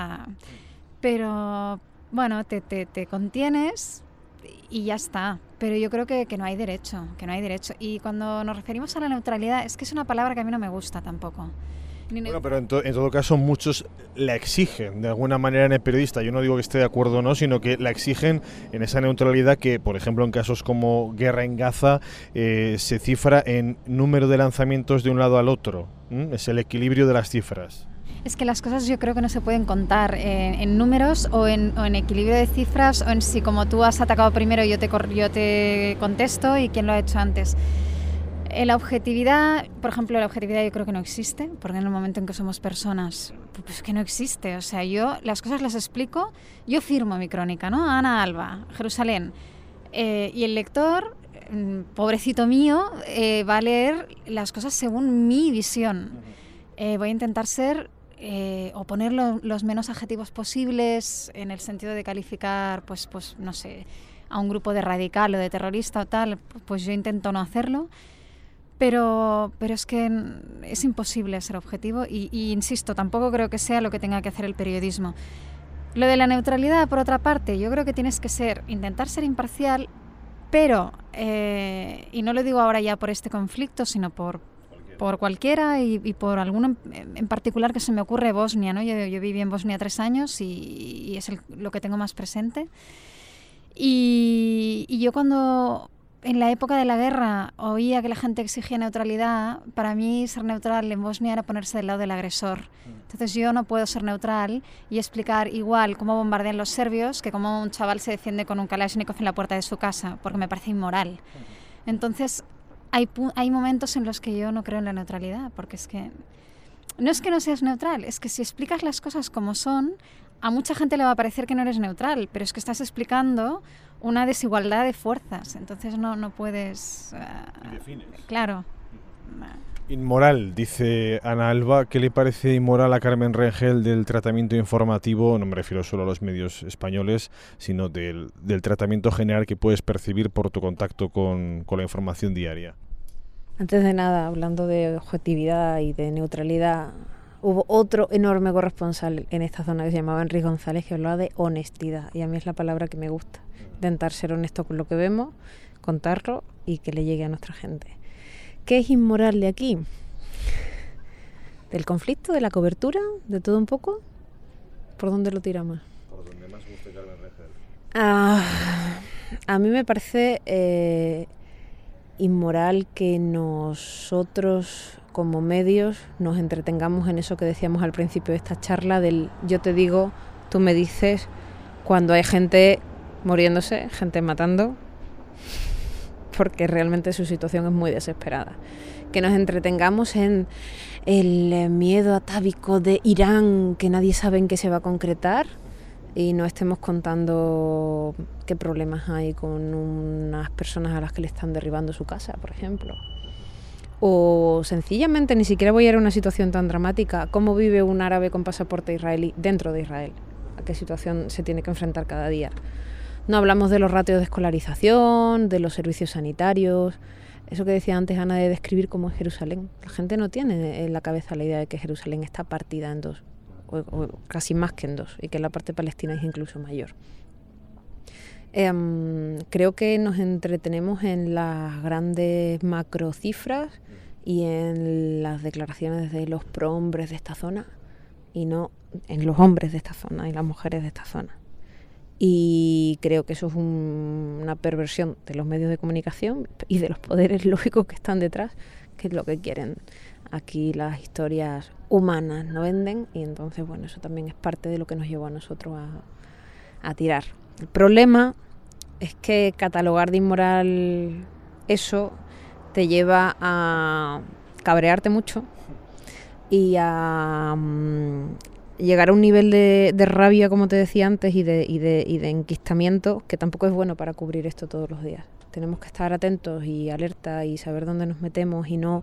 pero bueno, te contienes y ya está. Pero yo creo que no hay derecho, Y cuando nos referimos a la neutralidad, es que es una palabra que a mí no me gusta tampoco. Bueno, pero en todo caso muchos la exigen de alguna manera en el periodista. Yo no digo que esté de acuerdo o no, sino que la exigen en esa neutralidad que, por ejemplo, en casos como Guerra en Gaza, se cifra en número de lanzamientos de un lado al otro. Es el equilibrio de las cifras. Es que las cosas yo creo que no se pueden contar en números o en equilibrio de cifras o en si como tú has atacado primero yo te contesto y quién lo ha hecho antes. La objetividad, por ejemplo, yo creo que no existe, porque en el momento en que somos personas, pues que no existe. O sea, yo las cosas las explico, yo firmo mi crónica, ¿no? Ana Alba, Jerusalén. Y el lector, pobrecito mío, va a leer las cosas según mi visión. Voy a intentar ser o poner los menos adjetivos posibles en el sentido de calificar, pues no sé, a un grupo de radical o de terrorista o tal, pues yo intento no hacerlo. Pero es que es imposible ser objetivo y insisto, tampoco creo que sea lo que tenga que hacer el periodismo. Lo de la neutralidad, por otra parte, yo creo que tienes que intentar ser imparcial, pero, y no lo digo ahora ya por este conflicto, sino por cualquiera y por alguno en particular que se me ocurre, Bosnia, ¿no? Yo viví en Bosnia 3 años y es lo que tengo más presente. Y yo cuando en la época de la guerra oía que la gente exigía neutralidad, para mí ser neutral en Bosnia era ponerse del lado del agresor. Entonces yo no puedo ser neutral y explicar igual cómo bombardean los serbios que cómo un chaval se defiende con un Kalashnikov en la puerta de su casa, porque me parece inmoral. Entonces hay momentos en los que yo no creo en la neutralidad, porque es que no seas neutral, es que si explicas las cosas como son, a mucha gente le va a parecer que no eres neutral, pero es que estás explicando una desigualdad de fuerzas, entonces no puedes... ¿Y defines? Claro. Inmoral, dice Ana Alba. ¿Qué le parece inmoral a Carmen Rengel del tratamiento informativo? No me refiero solo a los medios españoles, sino del tratamiento general que puedes percibir por tu contacto con la información diaria. Antes de nada, hablando de objetividad y de neutralidad, hubo otro enorme corresponsal en esta zona que se llamaba Enrique González, que hablaba de honestidad, y a mí es la palabra que me gusta. Intentar ser honesto con lo que vemos, contarlo y que le llegue a nuestra gente. ¿Qué es inmoral de aquí? ¿Del conflicto, de la cobertura, de todo un poco? ¿Por dónde lo tiramos? Por donde más guste Carmen Rengel. A mí me parece inmoral que nosotros como medios nos entretengamos en eso que decíamos al principio de esta charla del yo te digo, tú me dices, cuando hay gente muriéndose, gente matando, porque realmente su situación es muy desesperada. Que nos entretengamos en el miedo atávico de Irán, que nadie sabe en qué se va a concretar, y no estemos contando qué problemas hay con unas personas a las que le están derribando su casa, por ejemplo. O sencillamente, ni siquiera voy a ir a una situación tan dramática, cómo vive un árabe con pasaporte israelí dentro de Israel, a qué situación se tiene que enfrentar cada día. No hablamos de los ratios de escolarización, de los servicios sanitarios, eso que decía antes Ana de describir cómo es Jerusalén. La gente no tiene en la cabeza la idea de que Jerusalén está partida en dos, o casi más que en dos, y que la parte palestina es incluso mayor. Creo que nos entretenemos en las grandes macrocifras y en las declaraciones de los prohombres de esta zona y no en los hombres de esta zona y las mujeres de esta zona. Y creo que eso es una perversión de los medios de comunicación y de los poderes lógicos que están detrás, que es lo que quieren. Aquí las historias humanas no venden y entonces, bueno, eso también es parte de lo que nos llevó a nosotros a tirar. El problema es que catalogar de inmoral eso te lleva a cabrearte mucho y a llegar a un nivel de rabia, como te decía antes, y de enquistamiento, que tampoco es bueno para cubrir esto todos los días. Tenemos que estar atentos y alerta y saber dónde nos metemos y no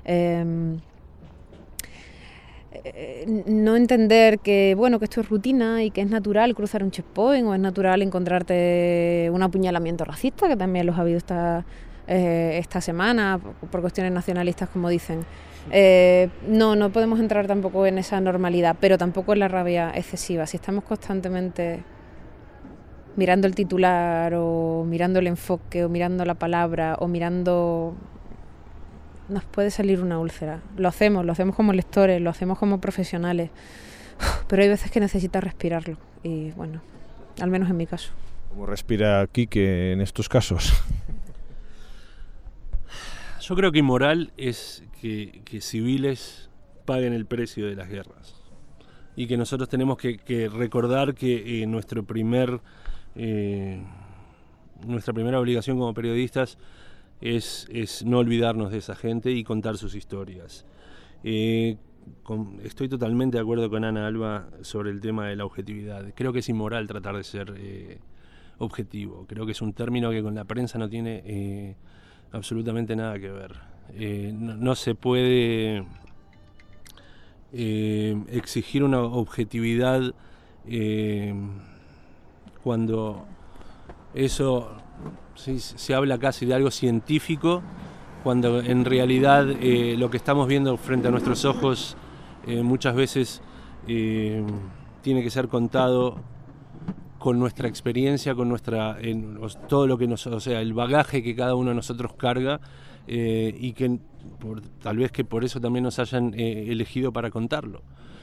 entender que, bueno, que esto es rutina y que es natural cruzar un checkpoint o es natural encontrarte un apuñalamiento racista, que también los ha habido esta semana por cuestiones nacionalistas, como dicen. No podemos entrar tampoco en esa normalidad, pero tampoco en la rabia excesiva. Si estamos constantemente mirando el titular o mirando el enfoque o mirando la palabra o mirando... nos puede salir una úlcera. Lo hacemos como lectores, lo hacemos como profesionales, pero hay veces que necesitas respirarlo y bueno, al menos en mi caso. ¿Cómo respira Quique en estos casos? Yo creo que inmoral es que civiles paguen el precio de las guerras y que nosotros tenemos que recordar que nuestra primera obligación como periodistas es no olvidarnos de esa gente y contar sus historias. Estoy totalmente de acuerdo con Ana Alba sobre el tema de la objetividad. Creo que es inmoral tratar de ser objetivo. Creo que es un término que con la prensa no tiene absolutamente nada que ver. No se puede exigir una objetividad cuando eso se habla casi de algo científico, cuando en realidad lo que estamos viendo frente a nuestros ojos muchas veces tiene que ser contado con nuestra experiencia, con todo lo que el bagaje que cada uno de nosotros carga y que tal vez que por eso también nos hayan elegido para contarlo.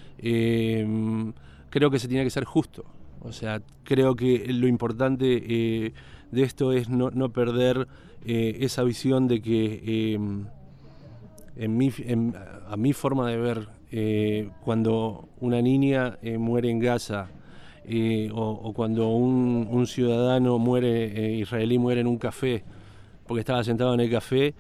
Creo que se tiene que ser justo. O sea, creo que lo importante de esto es no perder esa visión de que a mi forma de ver, cuando una niña muere en Gaza o cuando un ciudadano israelí muere en un café porque estaba sentado en el café,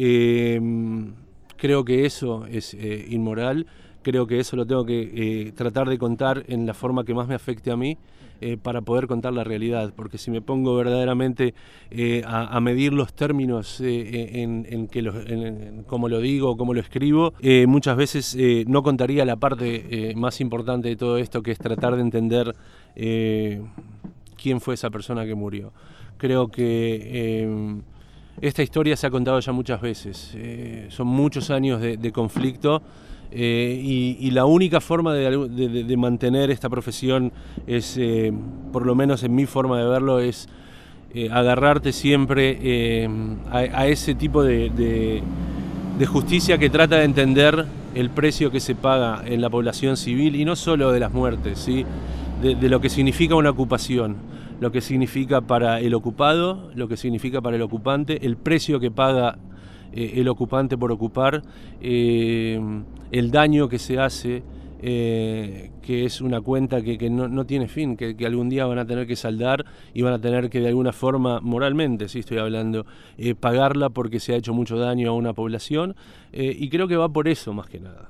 creo que eso es inmoral. Creo que eso lo tengo que tratar de contar en la forma que más me afecte a mí para poder contar la realidad, porque si me pongo verdaderamente a medir los términos en cómo lo digo o cómo lo escribo, muchas veces no contaría la parte más importante de todo esto, que es tratar de entender quién fue esa persona que murió. Creo que esta historia se ha contado ya muchas veces, son muchos años de conflicto. Y la única forma de mantener esta profesión es, por lo menos en mi forma de verlo, es agarrarte siempre a ese tipo de justicia que trata de entender el precio que se paga en la población civil, y no solo de las muertes, ¿sí? De lo que significa una ocupación. lo que significa para el ocupado, lo que significa para el ocupante, el precio que paga el ocupante por ocupar, el daño que se hace, que es una cuenta que no tiene fin, que algún día van a tener que saldar y van a tener que de alguna forma, moralmente, sí estoy hablando, pagarla porque se ha hecho mucho daño a una población, y creo que va por eso más que nada.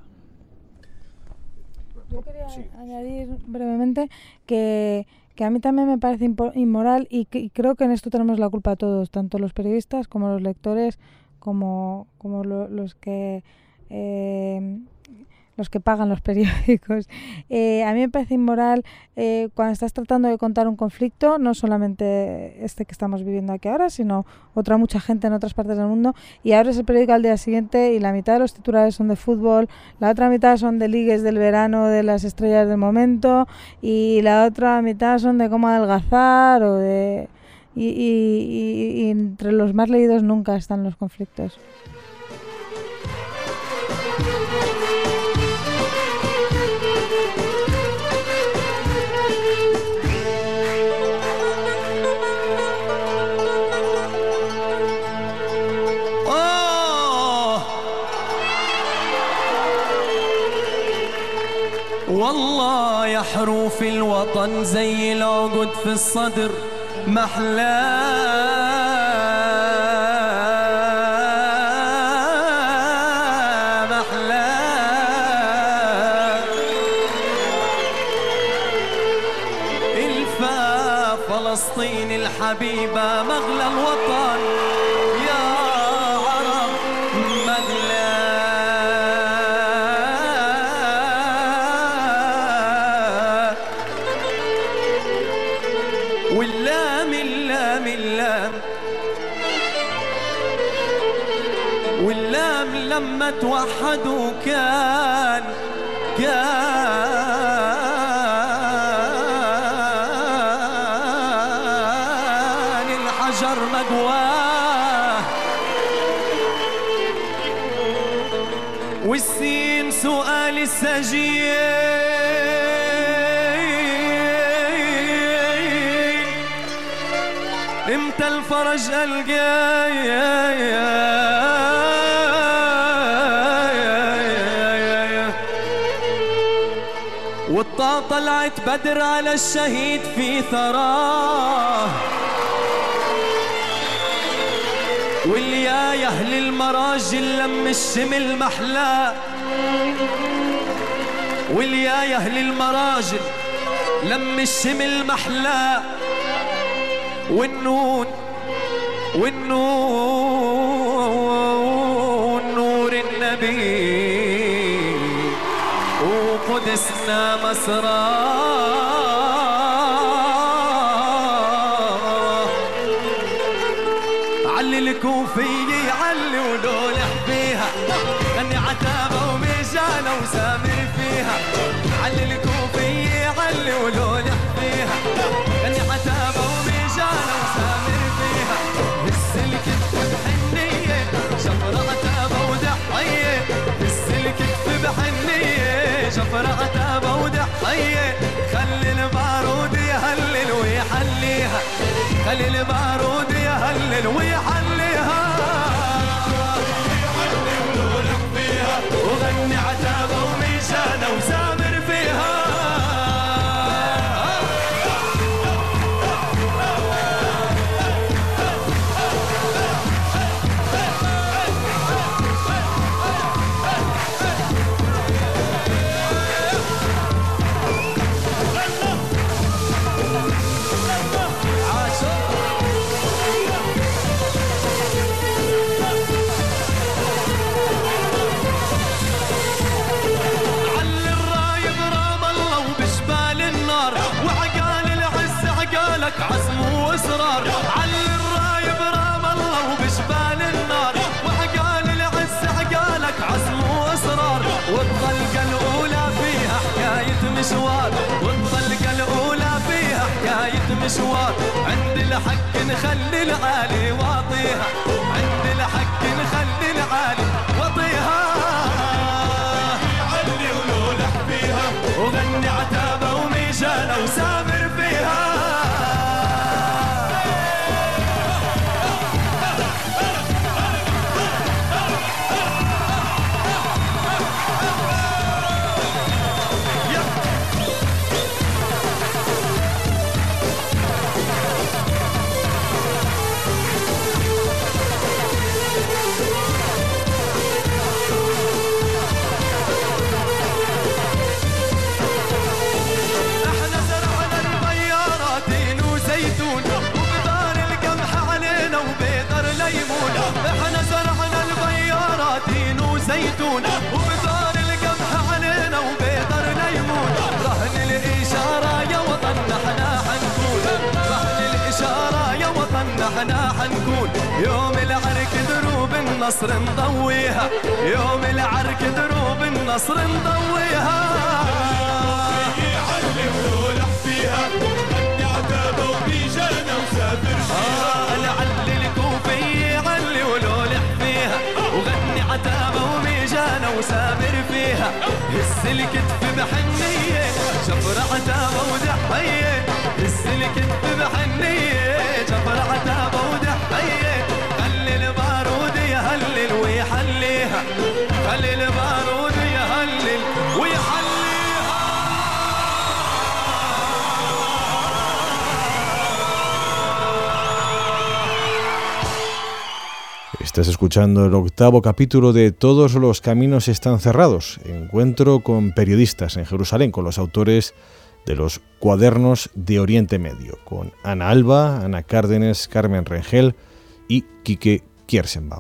Yo quería añadir brevemente que a mí también me parece inmoral y creo que en esto tenemos la culpa todos, tanto los periodistas como los lectores, como los que pagan los periódicos. A mí me parece inmoral cuando estás tratando de contar un conflicto, no solamente este que estamos viviendo aquí ahora, sino mucha gente en otras partes del mundo, y abres el periódico al día siguiente y la mitad de los titulares son de fútbol, la otra mitad son de ligues del verano de las estrellas del momento, y la otra mitad son de cómo adelgazar o de... Y entre los más leídos nunca están los conflictos. والله يا حروف الوطن زي العقد في الصدر محلاه الفا فلسطين الحبيبة مغلى الوطن يا عرب مغلى واللام لما توحدوا كان الحجر مقواه والسين سؤال السجين امتى الفرج الجاي والطا طلعت بدر على الشهيد في ثراه واللي يا اهل المراجل لم الشمل محلاه واللي يا اهل المراجل لم الشمل محلاه والنون نور النبي وقدسنا مسراه علي الكوفية علي ولولح فيها غني عتابة وميجانة وسامر فيها علي الكوفية علي ولولح فيها غني عتابة وميجانة وسامر فيها السلك بحنية شفرة عتابة ودحية السلك بحنية شفرة عتابة ودحية خلي البارود يهلل ويحليها خلي البارود يهلل ويحليها وغني عتابة وميشانة وسامر فيها عزم واصرار علي الرايب رام الله وبشبال النار وعقال العز عقالك عزم واصرار والطلقه الاولى فيها حكايه مشوار والطلقه الاولى فيها حكايه مشوار عند الحق نخلي العالي واطيها عند الحق نخلي العالي واطيها علي ولولح فيها وغني عتابه وميجانه وسامر فيها يوم العرك دروب النصر نضويها يوم العرك دروب النصر نضويها علي ولولح فيها غني عتابة وبيجانا وسافر فيها لعلي الكوفي علي ولولح فيها وغني عتابة وبيجانا وسافر فيها هز الكتف بحنية جبر عتابة ودحية هز الكتف بحنية جبر عتابة ودحية خلي البارود يهلل ويحليها خلي البارود يهلل ويحليها. Estás escuchando el 8º capítulo de Todos los caminos están cerrados, encuentro con periodistas en Jerusalén, con los autores de los Cuadernos de Oriente Medio, con Ana Alba, Ana Cárdenes, Carmen Rengel y Quique Kierszenbaum.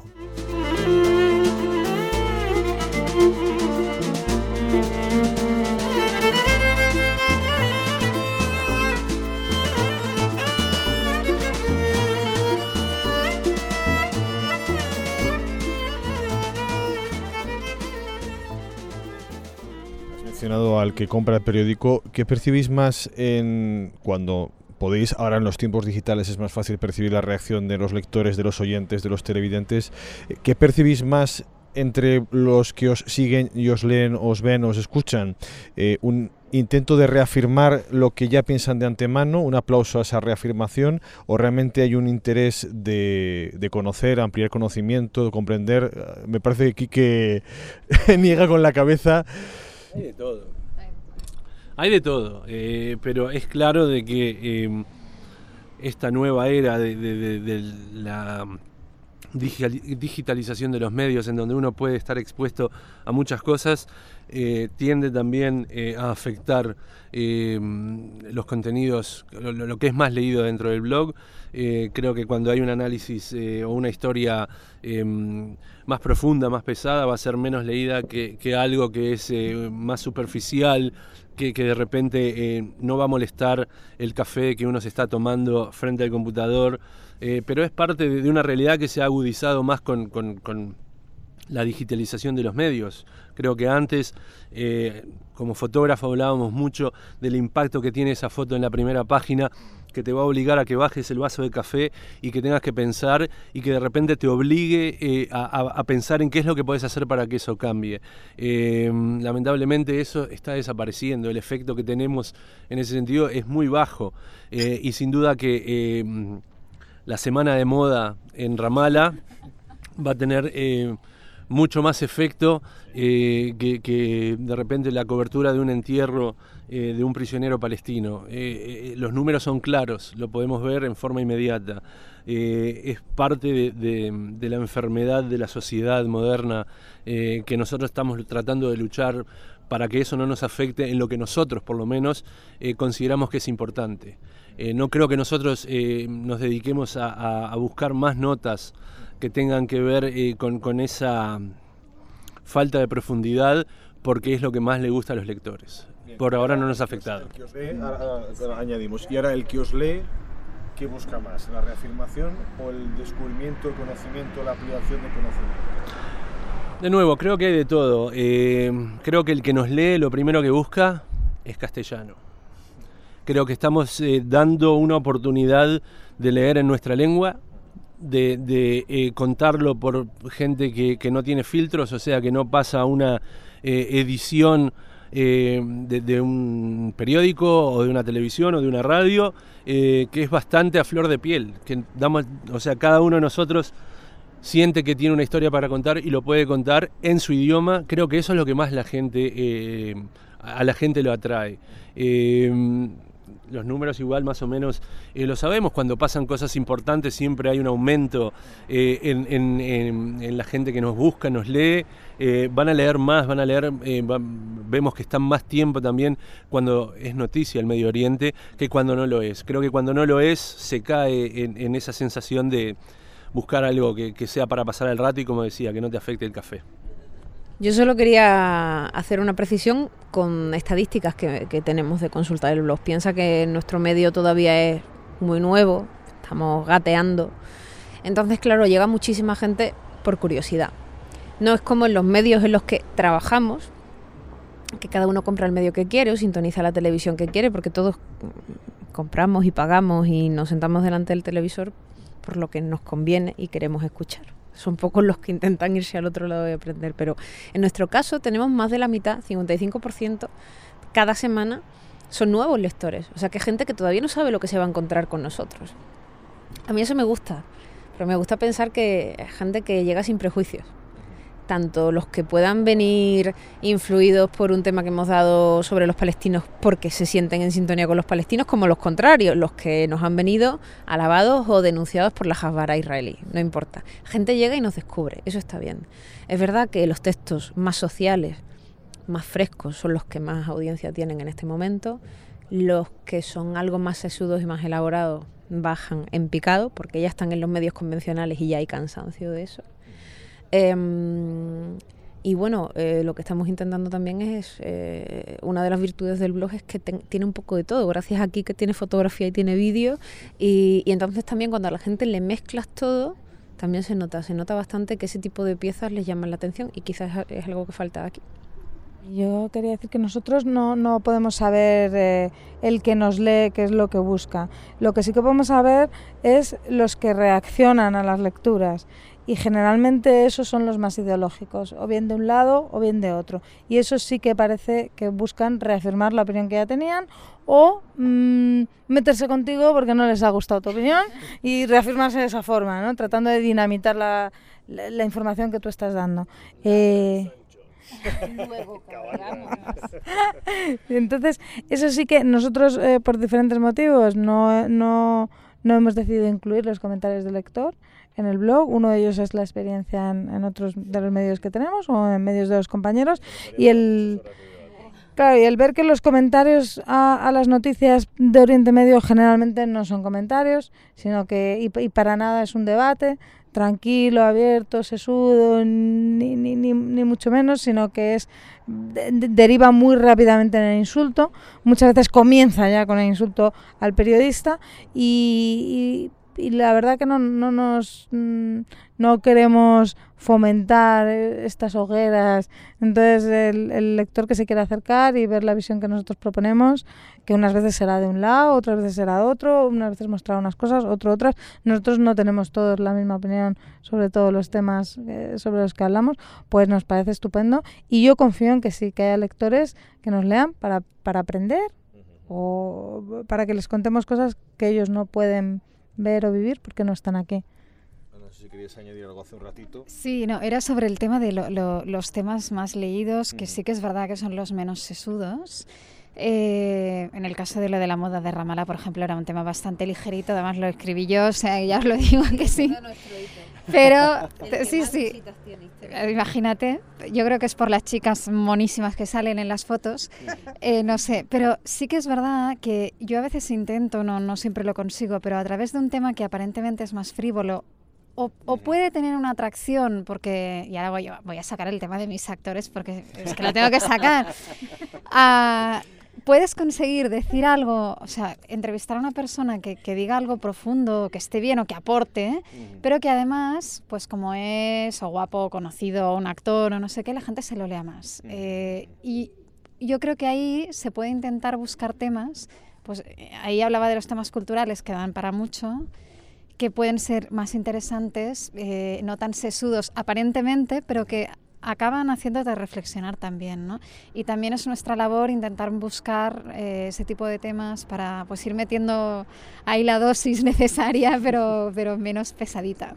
Al que compra el periódico, ¿qué percibís más cuando podéis, ahora en los tiempos digitales es más fácil percibir la reacción de los lectores, de los oyentes, de los televidentes? ¿Qué percibís más entre los que os siguen y os leen, os ven, os escuchan? ¿Un intento de reafirmar lo que ya piensan de antemano, un aplauso a esa reafirmación, o realmente hay un interés de conocer, ampliar conocimiento, de comprender? Me parece que Quique niega con la cabeza. Hay de todo. Hay de todo, pero es claro de que esta nueva era de la digitalización de los medios, en donde uno puede estar expuesto a muchas cosas, tiende también a afectar los contenidos, lo que es más leído dentro del blog. Creo que cuando hay un análisis o una historia más profunda, más pesada, va a ser menos leída que algo que es más superficial, que de repente no va a molestar el café que uno se está tomando frente al computador, pero es parte de una realidad que se ha agudizado más con la digitalización de los medios. Creo que antes, como fotógrafo, hablábamos mucho del impacto que tiene esa foto en la primera página, que te va a obligar a que bajes el vaso de café y que tengas que pensar y que de repente te obligue a pensar en qué es lo que podés hacer para que eso cambie. Lamentablemente eso está desapareciendo, el efecto que tenemos en ese sentido es muy bajo, y sin duda que la semana de moda en Ramallah va a tener mucho más efecto que de repente la cobertura de un entierro de un prisionero palestino. Los números son claros, lo podemos ver en forma inmediata. Es parte de la enfermedad de la sociedad moderna, que nosotros estamos tratando de luchar para que eso no nos afecte en lo que nosotros, por lo menos, consideramos que es importante. No creo que nosotros nos dediquemos a buscar más notas que tengan que ver con esa falta de profundidad, porque es lo que más le gusta a los lectores. Bien, por ahora no nos ha afectado. El que os lee, añadimos. Y ahora el que os lee, ¿qué busca más? ¿La reafirmación o el descubrimiento, el conocimiento, la ampliación de conocimiento? De nuevo, creo que hay de todo. Creo que el que nos lee lo primero que busca es castellano. Creo que estamos dando una oportunidad de leer en nuestra lengua, de contarlo por gente que no tiene filtros, o sea, que no pasa una edición de un periódico o de una televisión o de una radio, que es bastante a flor de piel, que damos, o sea, cada uno de nosotros siente que tiene una historia para contar y lo puede contar en su idioma. Creo que eso es lo que más a la gente lo atrae. Los números igual más o menos lo sabemos, cuando pasan cosas importantes siempre hay un aumento en la gente que nos busca, nos lee, van a leer más, vemos que están más tiempo también cuando es noticia el Medio Oriente que cuando no lo es. Creo que cuando no lo es se cae en esa sensación de buscar algo que sea para pasar el rato y, como decía, que no te afecte el café. Yo solo quería hacer una precisión con estadísticas que tenemos de Consulta del Blog. Piensa que nuestro medio todavía es muy nuevo, estamos gateando Entonces, claro, llega muchísima gente por curiosidad. No es como en los medios en los que trabajamos, que cada uno compra el medio que quiere o sintoniza la televisión que quiere, porque todos compramos y pagamos y nos sentamos delante del televisor por lo que nos conviene y queremos escuchar. Son pocos los que intentan irse al otro lado y aprender, pero en nuestro caso tenemos más de la mitad, 55%, cada semana son nuevos lectores. O sea, que hay gente que todavía no sabe lo que se va a encontrar con nosotros. A mí eso me gusta, pero me gusta pensar que hay gente que llega sin prejuicios. Tanto los que puedan venir influidos por un tema que hemos dado sobre los palestinos porque se sienten en sintonía con los palestinos, como los contrarios, los que nos han venido alabados o denunciados por la Hasbara israelí, no importa. Gente llega y nos descubre, eso está bien. Es verdad que los textos más sociales, más frescos, son los que más audiencia tienen en este momento. Los que son algo más sesudos y más elaborados bajan en picado porque ya están en los medios convencionales y ya hay cansancio de eso. Y bueno, lo que estamos intentando también es, una de las virtudes del blog es que tiene un poco de todo, gracias a que tiene fotografía y tiene vídeo, y entonces también cuando a la gente le mezclas todo, también se nota bastante que ese tipo de piezas les llaman la atención y quizás es algo que falta aquí. Yo quería decir que nosotros no podemos saber el que nos lee qué es lo que busca. Lo que sí que podemos saber es los que reaccionan a las lecturas. Y generalmente esos son los más ideológicos, o bien de un lado o bien de otro. Y eso sí que parece que buscan reafirmar la opinión que ya tenían o meterse contigo porque no les ha gustado tu opinión y reafirmarse de esa forma, ¿no? Tratando de dinamitar la información que tú estás dando. Entonces, eso sí que nosotros, por diferentes motivos, no hemos decidido incluir los comentarios del lector en el blog. Uno de ellos es la experiencia en otros de los medios que tenemos o en medios de los compañeros y el ver que los comentarios a las noticias de Oriente Medio generalmente no son comentarios, sino que y para nada es un debate tranquilo, abierto, sesudo, ni mucho menos, sino que es deriva muy rápidamente en el insulto. Muchas veces comienza ya con el insulto al periodista y la verdad que no queremos fomentar estas hogueras. Entonces el lector que se quiera acercar y ver la visión que nosotros proponemos, que unas veces será de un lado, otras veces será de otro, unas veces mostrar unas cosas, otras. Nosotros no tenemos todos la misma opinión sobre todos los temas sobre los que hablamos, pues nos parece estupendo y yo confío en que sí, que haya lectores que nos lean para aprender o para que les contemos cosas que ellos no pueden ver o vivir porque no están aquí. No sé si querías añadir algo hace un ratito. Sí, no, era sobre el tema de los temas más leídos, que sí que es verdad que son los menos sesudos. En el caso de lo de la moda de Ramallah, por ejemplo, era un tema bastante ligerito, además lo escribí yo, o sea, ya os lo digo que sí. Pero, sí, imagínate, yo creo que es por las chicas monísimas que salen en las fotos, no sé, pero sí que es verdad que yo a veces intento, no siempre lo consigo, pero a través de un tema que aparentemente es más frívolo, o puede tener una atracción, porque, y ahora voy a sacar el tema de mis actores, porque es que lo tengo que sacar, puedes conseguir decir algo, o sea, entrevistar a una persona que diga algo profundo, que esté bien o que aporte, pero que además, pues como es o guapo, o conocido, o un actor o no sé qué, la gente se lo lea más. Y yo creo que ahí se puede intentar buscar temas, pues ahí hablaba de los temas culturales que dan para mucho, que pueden ser más interesantes, no tan sesudos aparentemente, pero que acaban haciéndote reflexionar también, ¿no? Y también es nuestra labor intentar buscar ese tipo de temas para pues ir metiendo ahí la dosis necesaria, pero menos pesadita.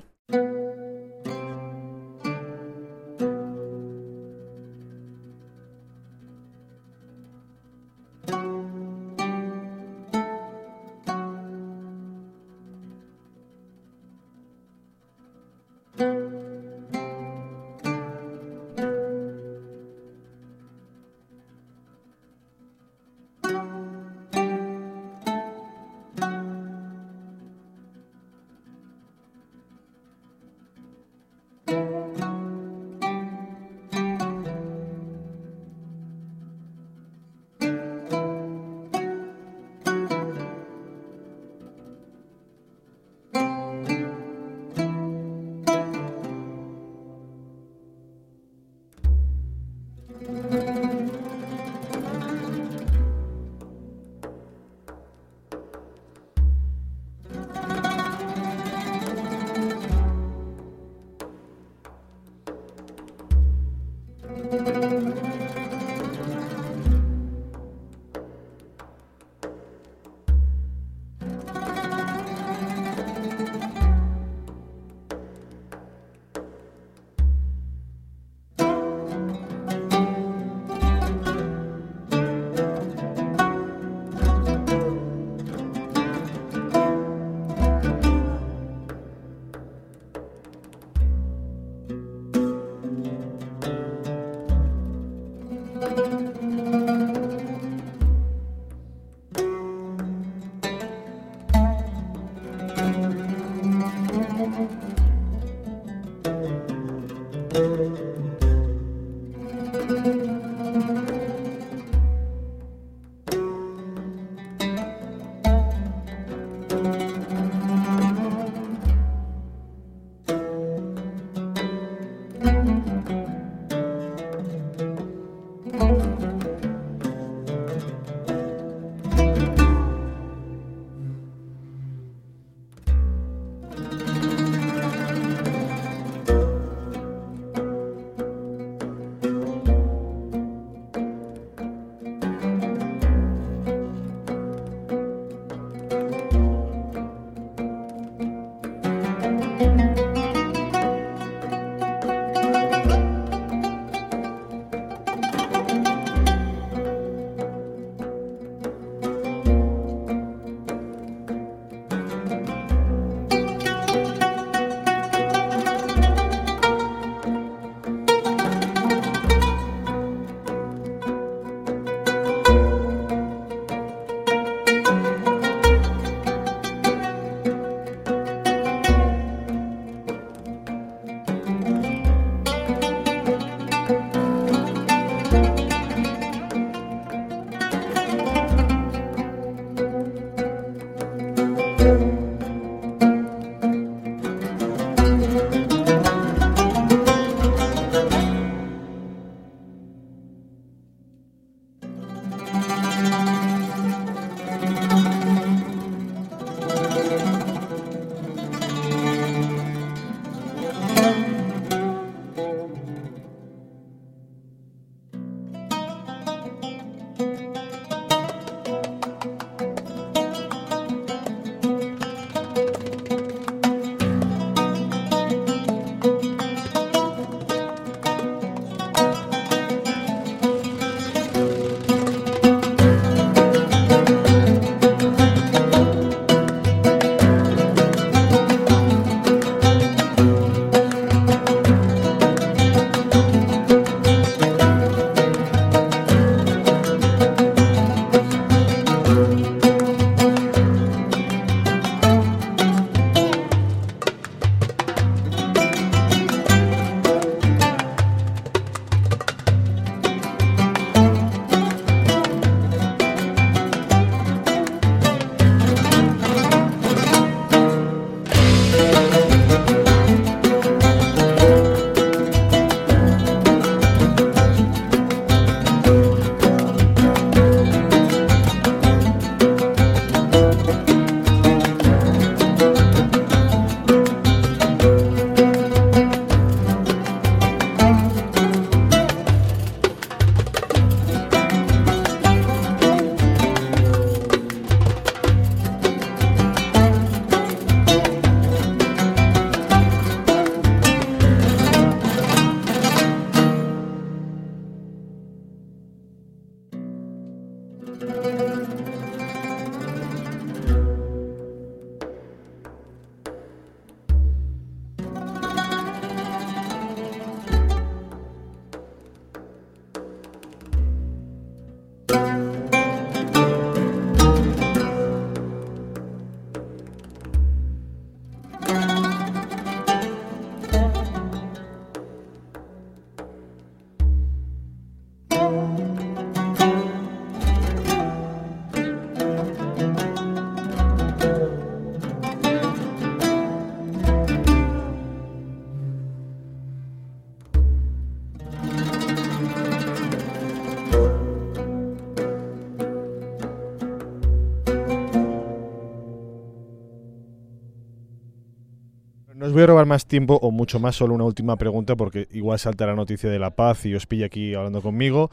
No os voy a robar más tiempo o mucho más, solo una última pregunta porque igual salta la noticia de la paz y os pilla aquí hablando conmigo.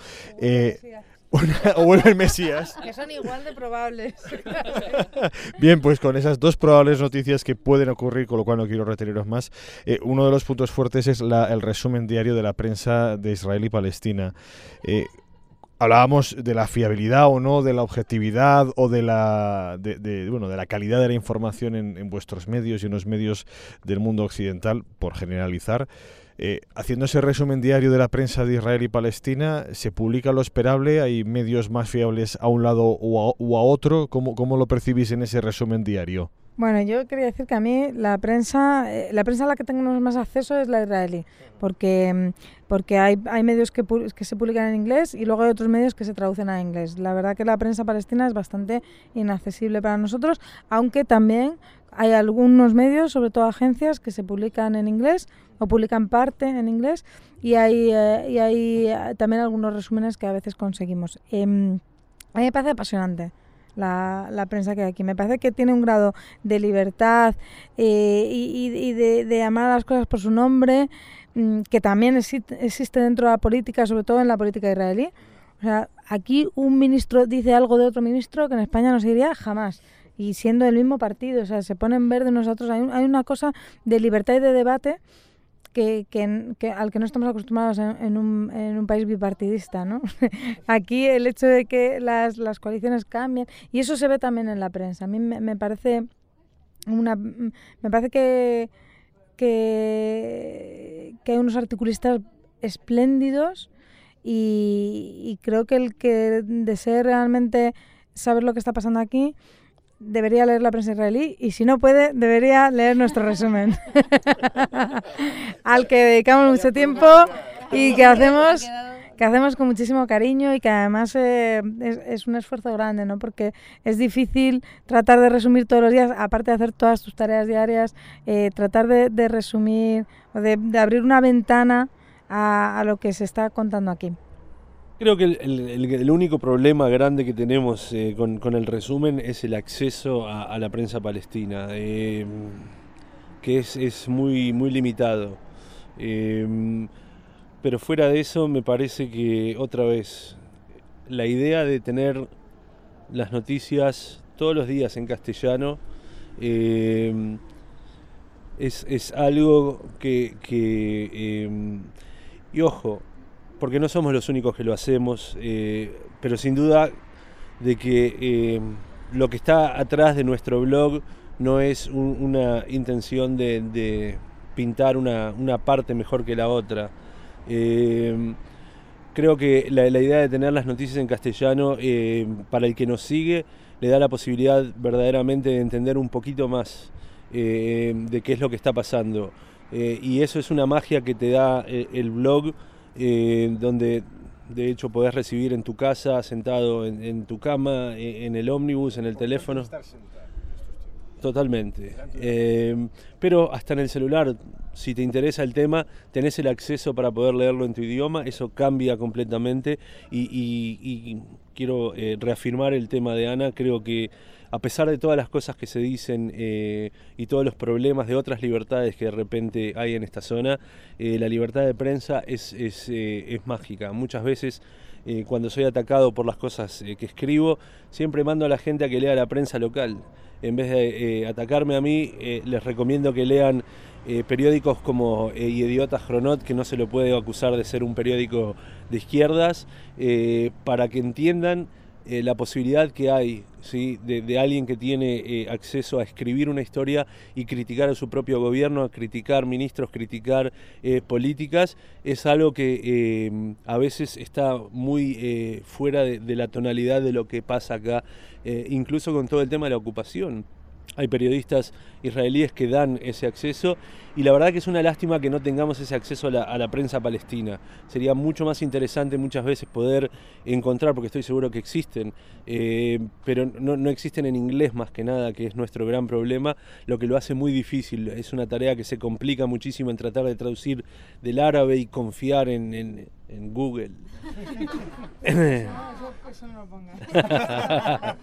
O vuelve el Mesías. Que son igual de probables. Bien, pues con esas dos probables noticias que pueden ocurrir, con lo cual no quiero reteneros más, uno de los puntos fuertes es el resumen diario de la prensa de Israel y Palestina. Hablábamos de la fiabilidad o no, de la objetividad o de la calidad de la información en vuestros medios y en los medios del mundo occidental, por generalizar. Haciendo ese resumen diario de la prensa de Israel y Palestina, ¿se publica lo esperable? ¿Hay medios más fiables a un lado o a otro? ¿Cómo lo percibís en ese resumen diario? Bueno, yo quería decir que a mí la prensa a la que tenemos más acceso es la israelí, porque hay medios que se publican en inglés y luego hay otros medios que se traducen a inglés. La verdad que la prensa palestina es bastante inaccesible para nosotros, aunque también hay algunos medios, sobre todo agencias, que se publican en inglés o publican parte en inglés y hay también algunos resúmenes que a veces conseguimos. A mí me parece apasionante la prensa que hay aquí. Me parece que tiene un grado de libertad y de llamar a las cosas por su nombre que también existe dentro de la política, sobre todo en la política israelí. O sea, aquí un ministro dice algo de otro ministro que en España no se diría jamás, y siendo del mismo partido, o sea, se ponen verde unos a otros. Hay una cosa de libertad y de debate que al que no estamos acostumbrados en un país bipartidista, ¿no? Aquí el hecho de que las coaliciones cambien, y eso se ve también en la prensa. A mí me parece que hay unos articulistas espléndidos y creo que el que desee realmente saber lo que está pasando aquí debería leer la prensa israelí, y si no puede, debería leer nuestro resumen al que dedicamos mucho tiempo y que hacemos con muchísimo cariño, y que además es un esfuerzo grande, ¿no? Porque es difícil tratar de resumir todos los días, aparte de hacer todas tus tareas diarias, tratar de resumir o de abrir una ventana a lo que se está contando aquí. Creo que el único problema grande que tenemos con el resumen es el acceso a la prensa palestina, que es muy, muy limitado. Pero fuera de eso, me parece que otra vez la idea de tener las noticias todos los días en castellano es algo que y ojo, porque no somos los únicos que lo hacemos, pero sin duda de que lo que está atrás de nuestro blog no es una intención de pintar una parte mejor que la otra. Creo que la idea de tener las noticias en castellano, para el que nos sigue, le da la posibilidad verdaderamente de entender un poquito más de qué es lo que está pasando. Y eso es una magia que te da el blog, donde de hecho podés recibir en tu casa, sentado en tu cama, en el ómnibus, en el teléfono. Totalmente. Pero hasta en el celular, si te interesa el tema, tenés el acceso para poder leerlo en tu idioma. Eso cambia completamente y quiero reafirmar el tema de Ana. Creo que a pesar de todas las cosas que se dicen y todos los problemas de otras libertades que de repente hay en esta zona, la libertad de prensa es mágica. Muchas veces cuando soy atacado por las cosas que escribo, siempre mando a la gente a que lea la prensa local. En vez de atacarme a mí, les recomiendo que lean periódicos como Idiotas Chronot, que no se lo puede acusar de ser un periódico de izquierdas, para que entiendan la posibilidad que hay, ¿sí? de alguien que tiene acceso a escribir una historia y criticar a su propio gobierno, a criticar ministros, criticar políticas. Es algo que a veces está muy fuera de la tonalidad de lo que pasa acá, incluso con todo el tema de la ocupación. Hay periodistas israelíes que dan ese acceso, y la verdad que es una lástima que no tengamos ese acceso a la prensa palestina. Sería mucho más interesante muchas veces poder encontrar, porque estoy seguro que existen, pero no existen en inglés más que nada, que es nuestro gran problema, lo que lo hace muy difícil. Es una tarea que se complica muchísimo en tratar de traducir del árabe y confiar en Google. Eso no lo pongas.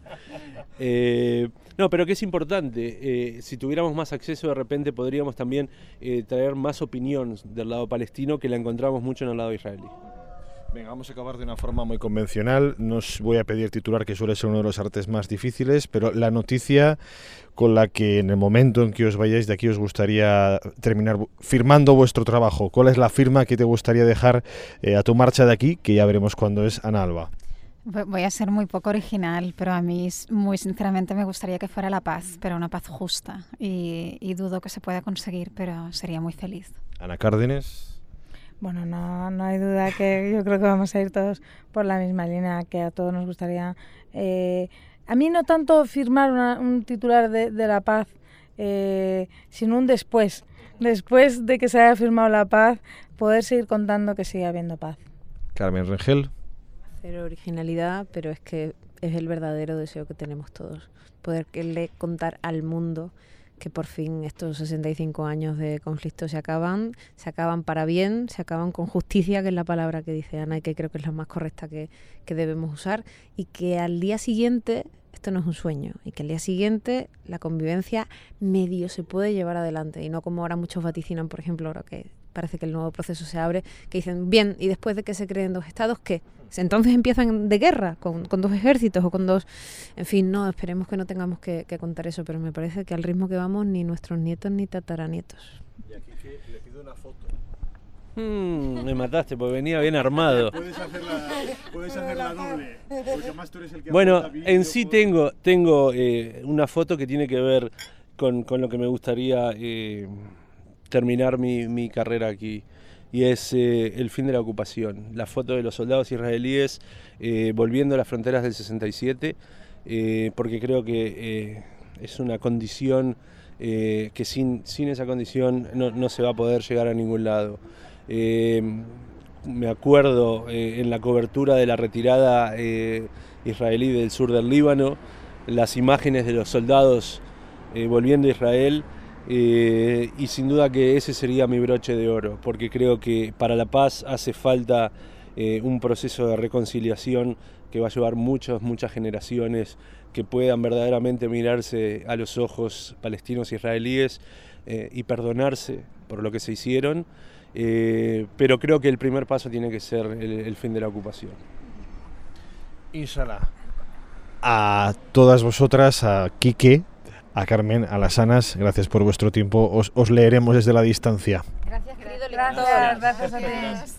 No, pero que es importante, si tuviéramos más acceso de repente podríamos también traer más opinión del lado palestino, que la encontramos mucho en el lado israelí. Venga, vamos a acabar de una forma muy convencional. No os voy a pedir titular, que suele ser uno de los artes más difíciles, pero la noticia con la que en el momento en que os vayáis de aquí os gustaría terminar firmando vuestro trabajo. ¿Cuál es la firma que te gustaría dejar a tu marcha de aquí, que ya veremos cuándo es, Ana Alba? Voy a ser muy poco original, pero a mí muy sinceramente me gustaría que fuera la paz, pero una paz justa, y dudo que se pueda conseguir, pero sería muy feliz. Ana Cárdenes. Bueno, no hay duda que yo creo que vamos a ir todos por la misma línea, que a todos nos gustaría A mí no tanto firmar un titular de la paz, sino un después. Después de que se haya firmado la paz, poder seguir contando que sigue habiendo paz. Carmen Rengel. Cero originalidad, pero es que es el verdadero deseo que tenemos todos. Poderle contar al mundo que por fin estos 65 años de conflicto se acaban para bien, se acaban con justicia, que es la palabra que dice Ana y que creo que es la más correcta que debemos usar, y que al día siguiente, esto no es un sueño, y que al día siguiente la convivencia medio se puede llevar adelante, y no como ahora muchos vaticinan, por ejemplo, ahora que parece que el nuevo proceso se abre, que dicen, bien, y después de que se creen dos estados, ¿qué? Entonces empiezan de guerra, con dos ejércitos o con dos... En fin, no, esperemos que no tengamos que contar eso, pero me parece que al ritmo que vamos, ni nuestros nietos ni tataranietos. Y aquí que le pido una foto. Me mataste porque venía bien armado. Puedes hacer la doble, porque además tú eres el que... Bueno, en sí tengo una foto que tiene que ver con lo que me gustaría terminar mi carrera aquí. Y es el fin de la ocupación. La foto de los soldados israelíes volviendo a las fronteras del 67, porque creo que es una condición que sin esa condición no se va a poder llegar a ningún lado. Me acuerdo en la cobertura de la retirada israelí del sur del Líbano, las imágenes de los soldados volviendo a Israel. Y sin duda que ese sería mi broche de oro, porque creo que para la paz hace falta un proceso de reconciliación que va a llevar muchas generaciones que puedan verdaderamente mirarse a los ojos palestinos e israelíes y perdonarse por lo que se hicieron, pero creo que el primer paso tiene que ser el fin de la ocupación. Inshallah. A todas vosotras, a Quique, a Carmen, a las Anas, gracias por vuestro tiempo. Os leeremos desde la distancia. Gracias, querido lector. Gracias a ti.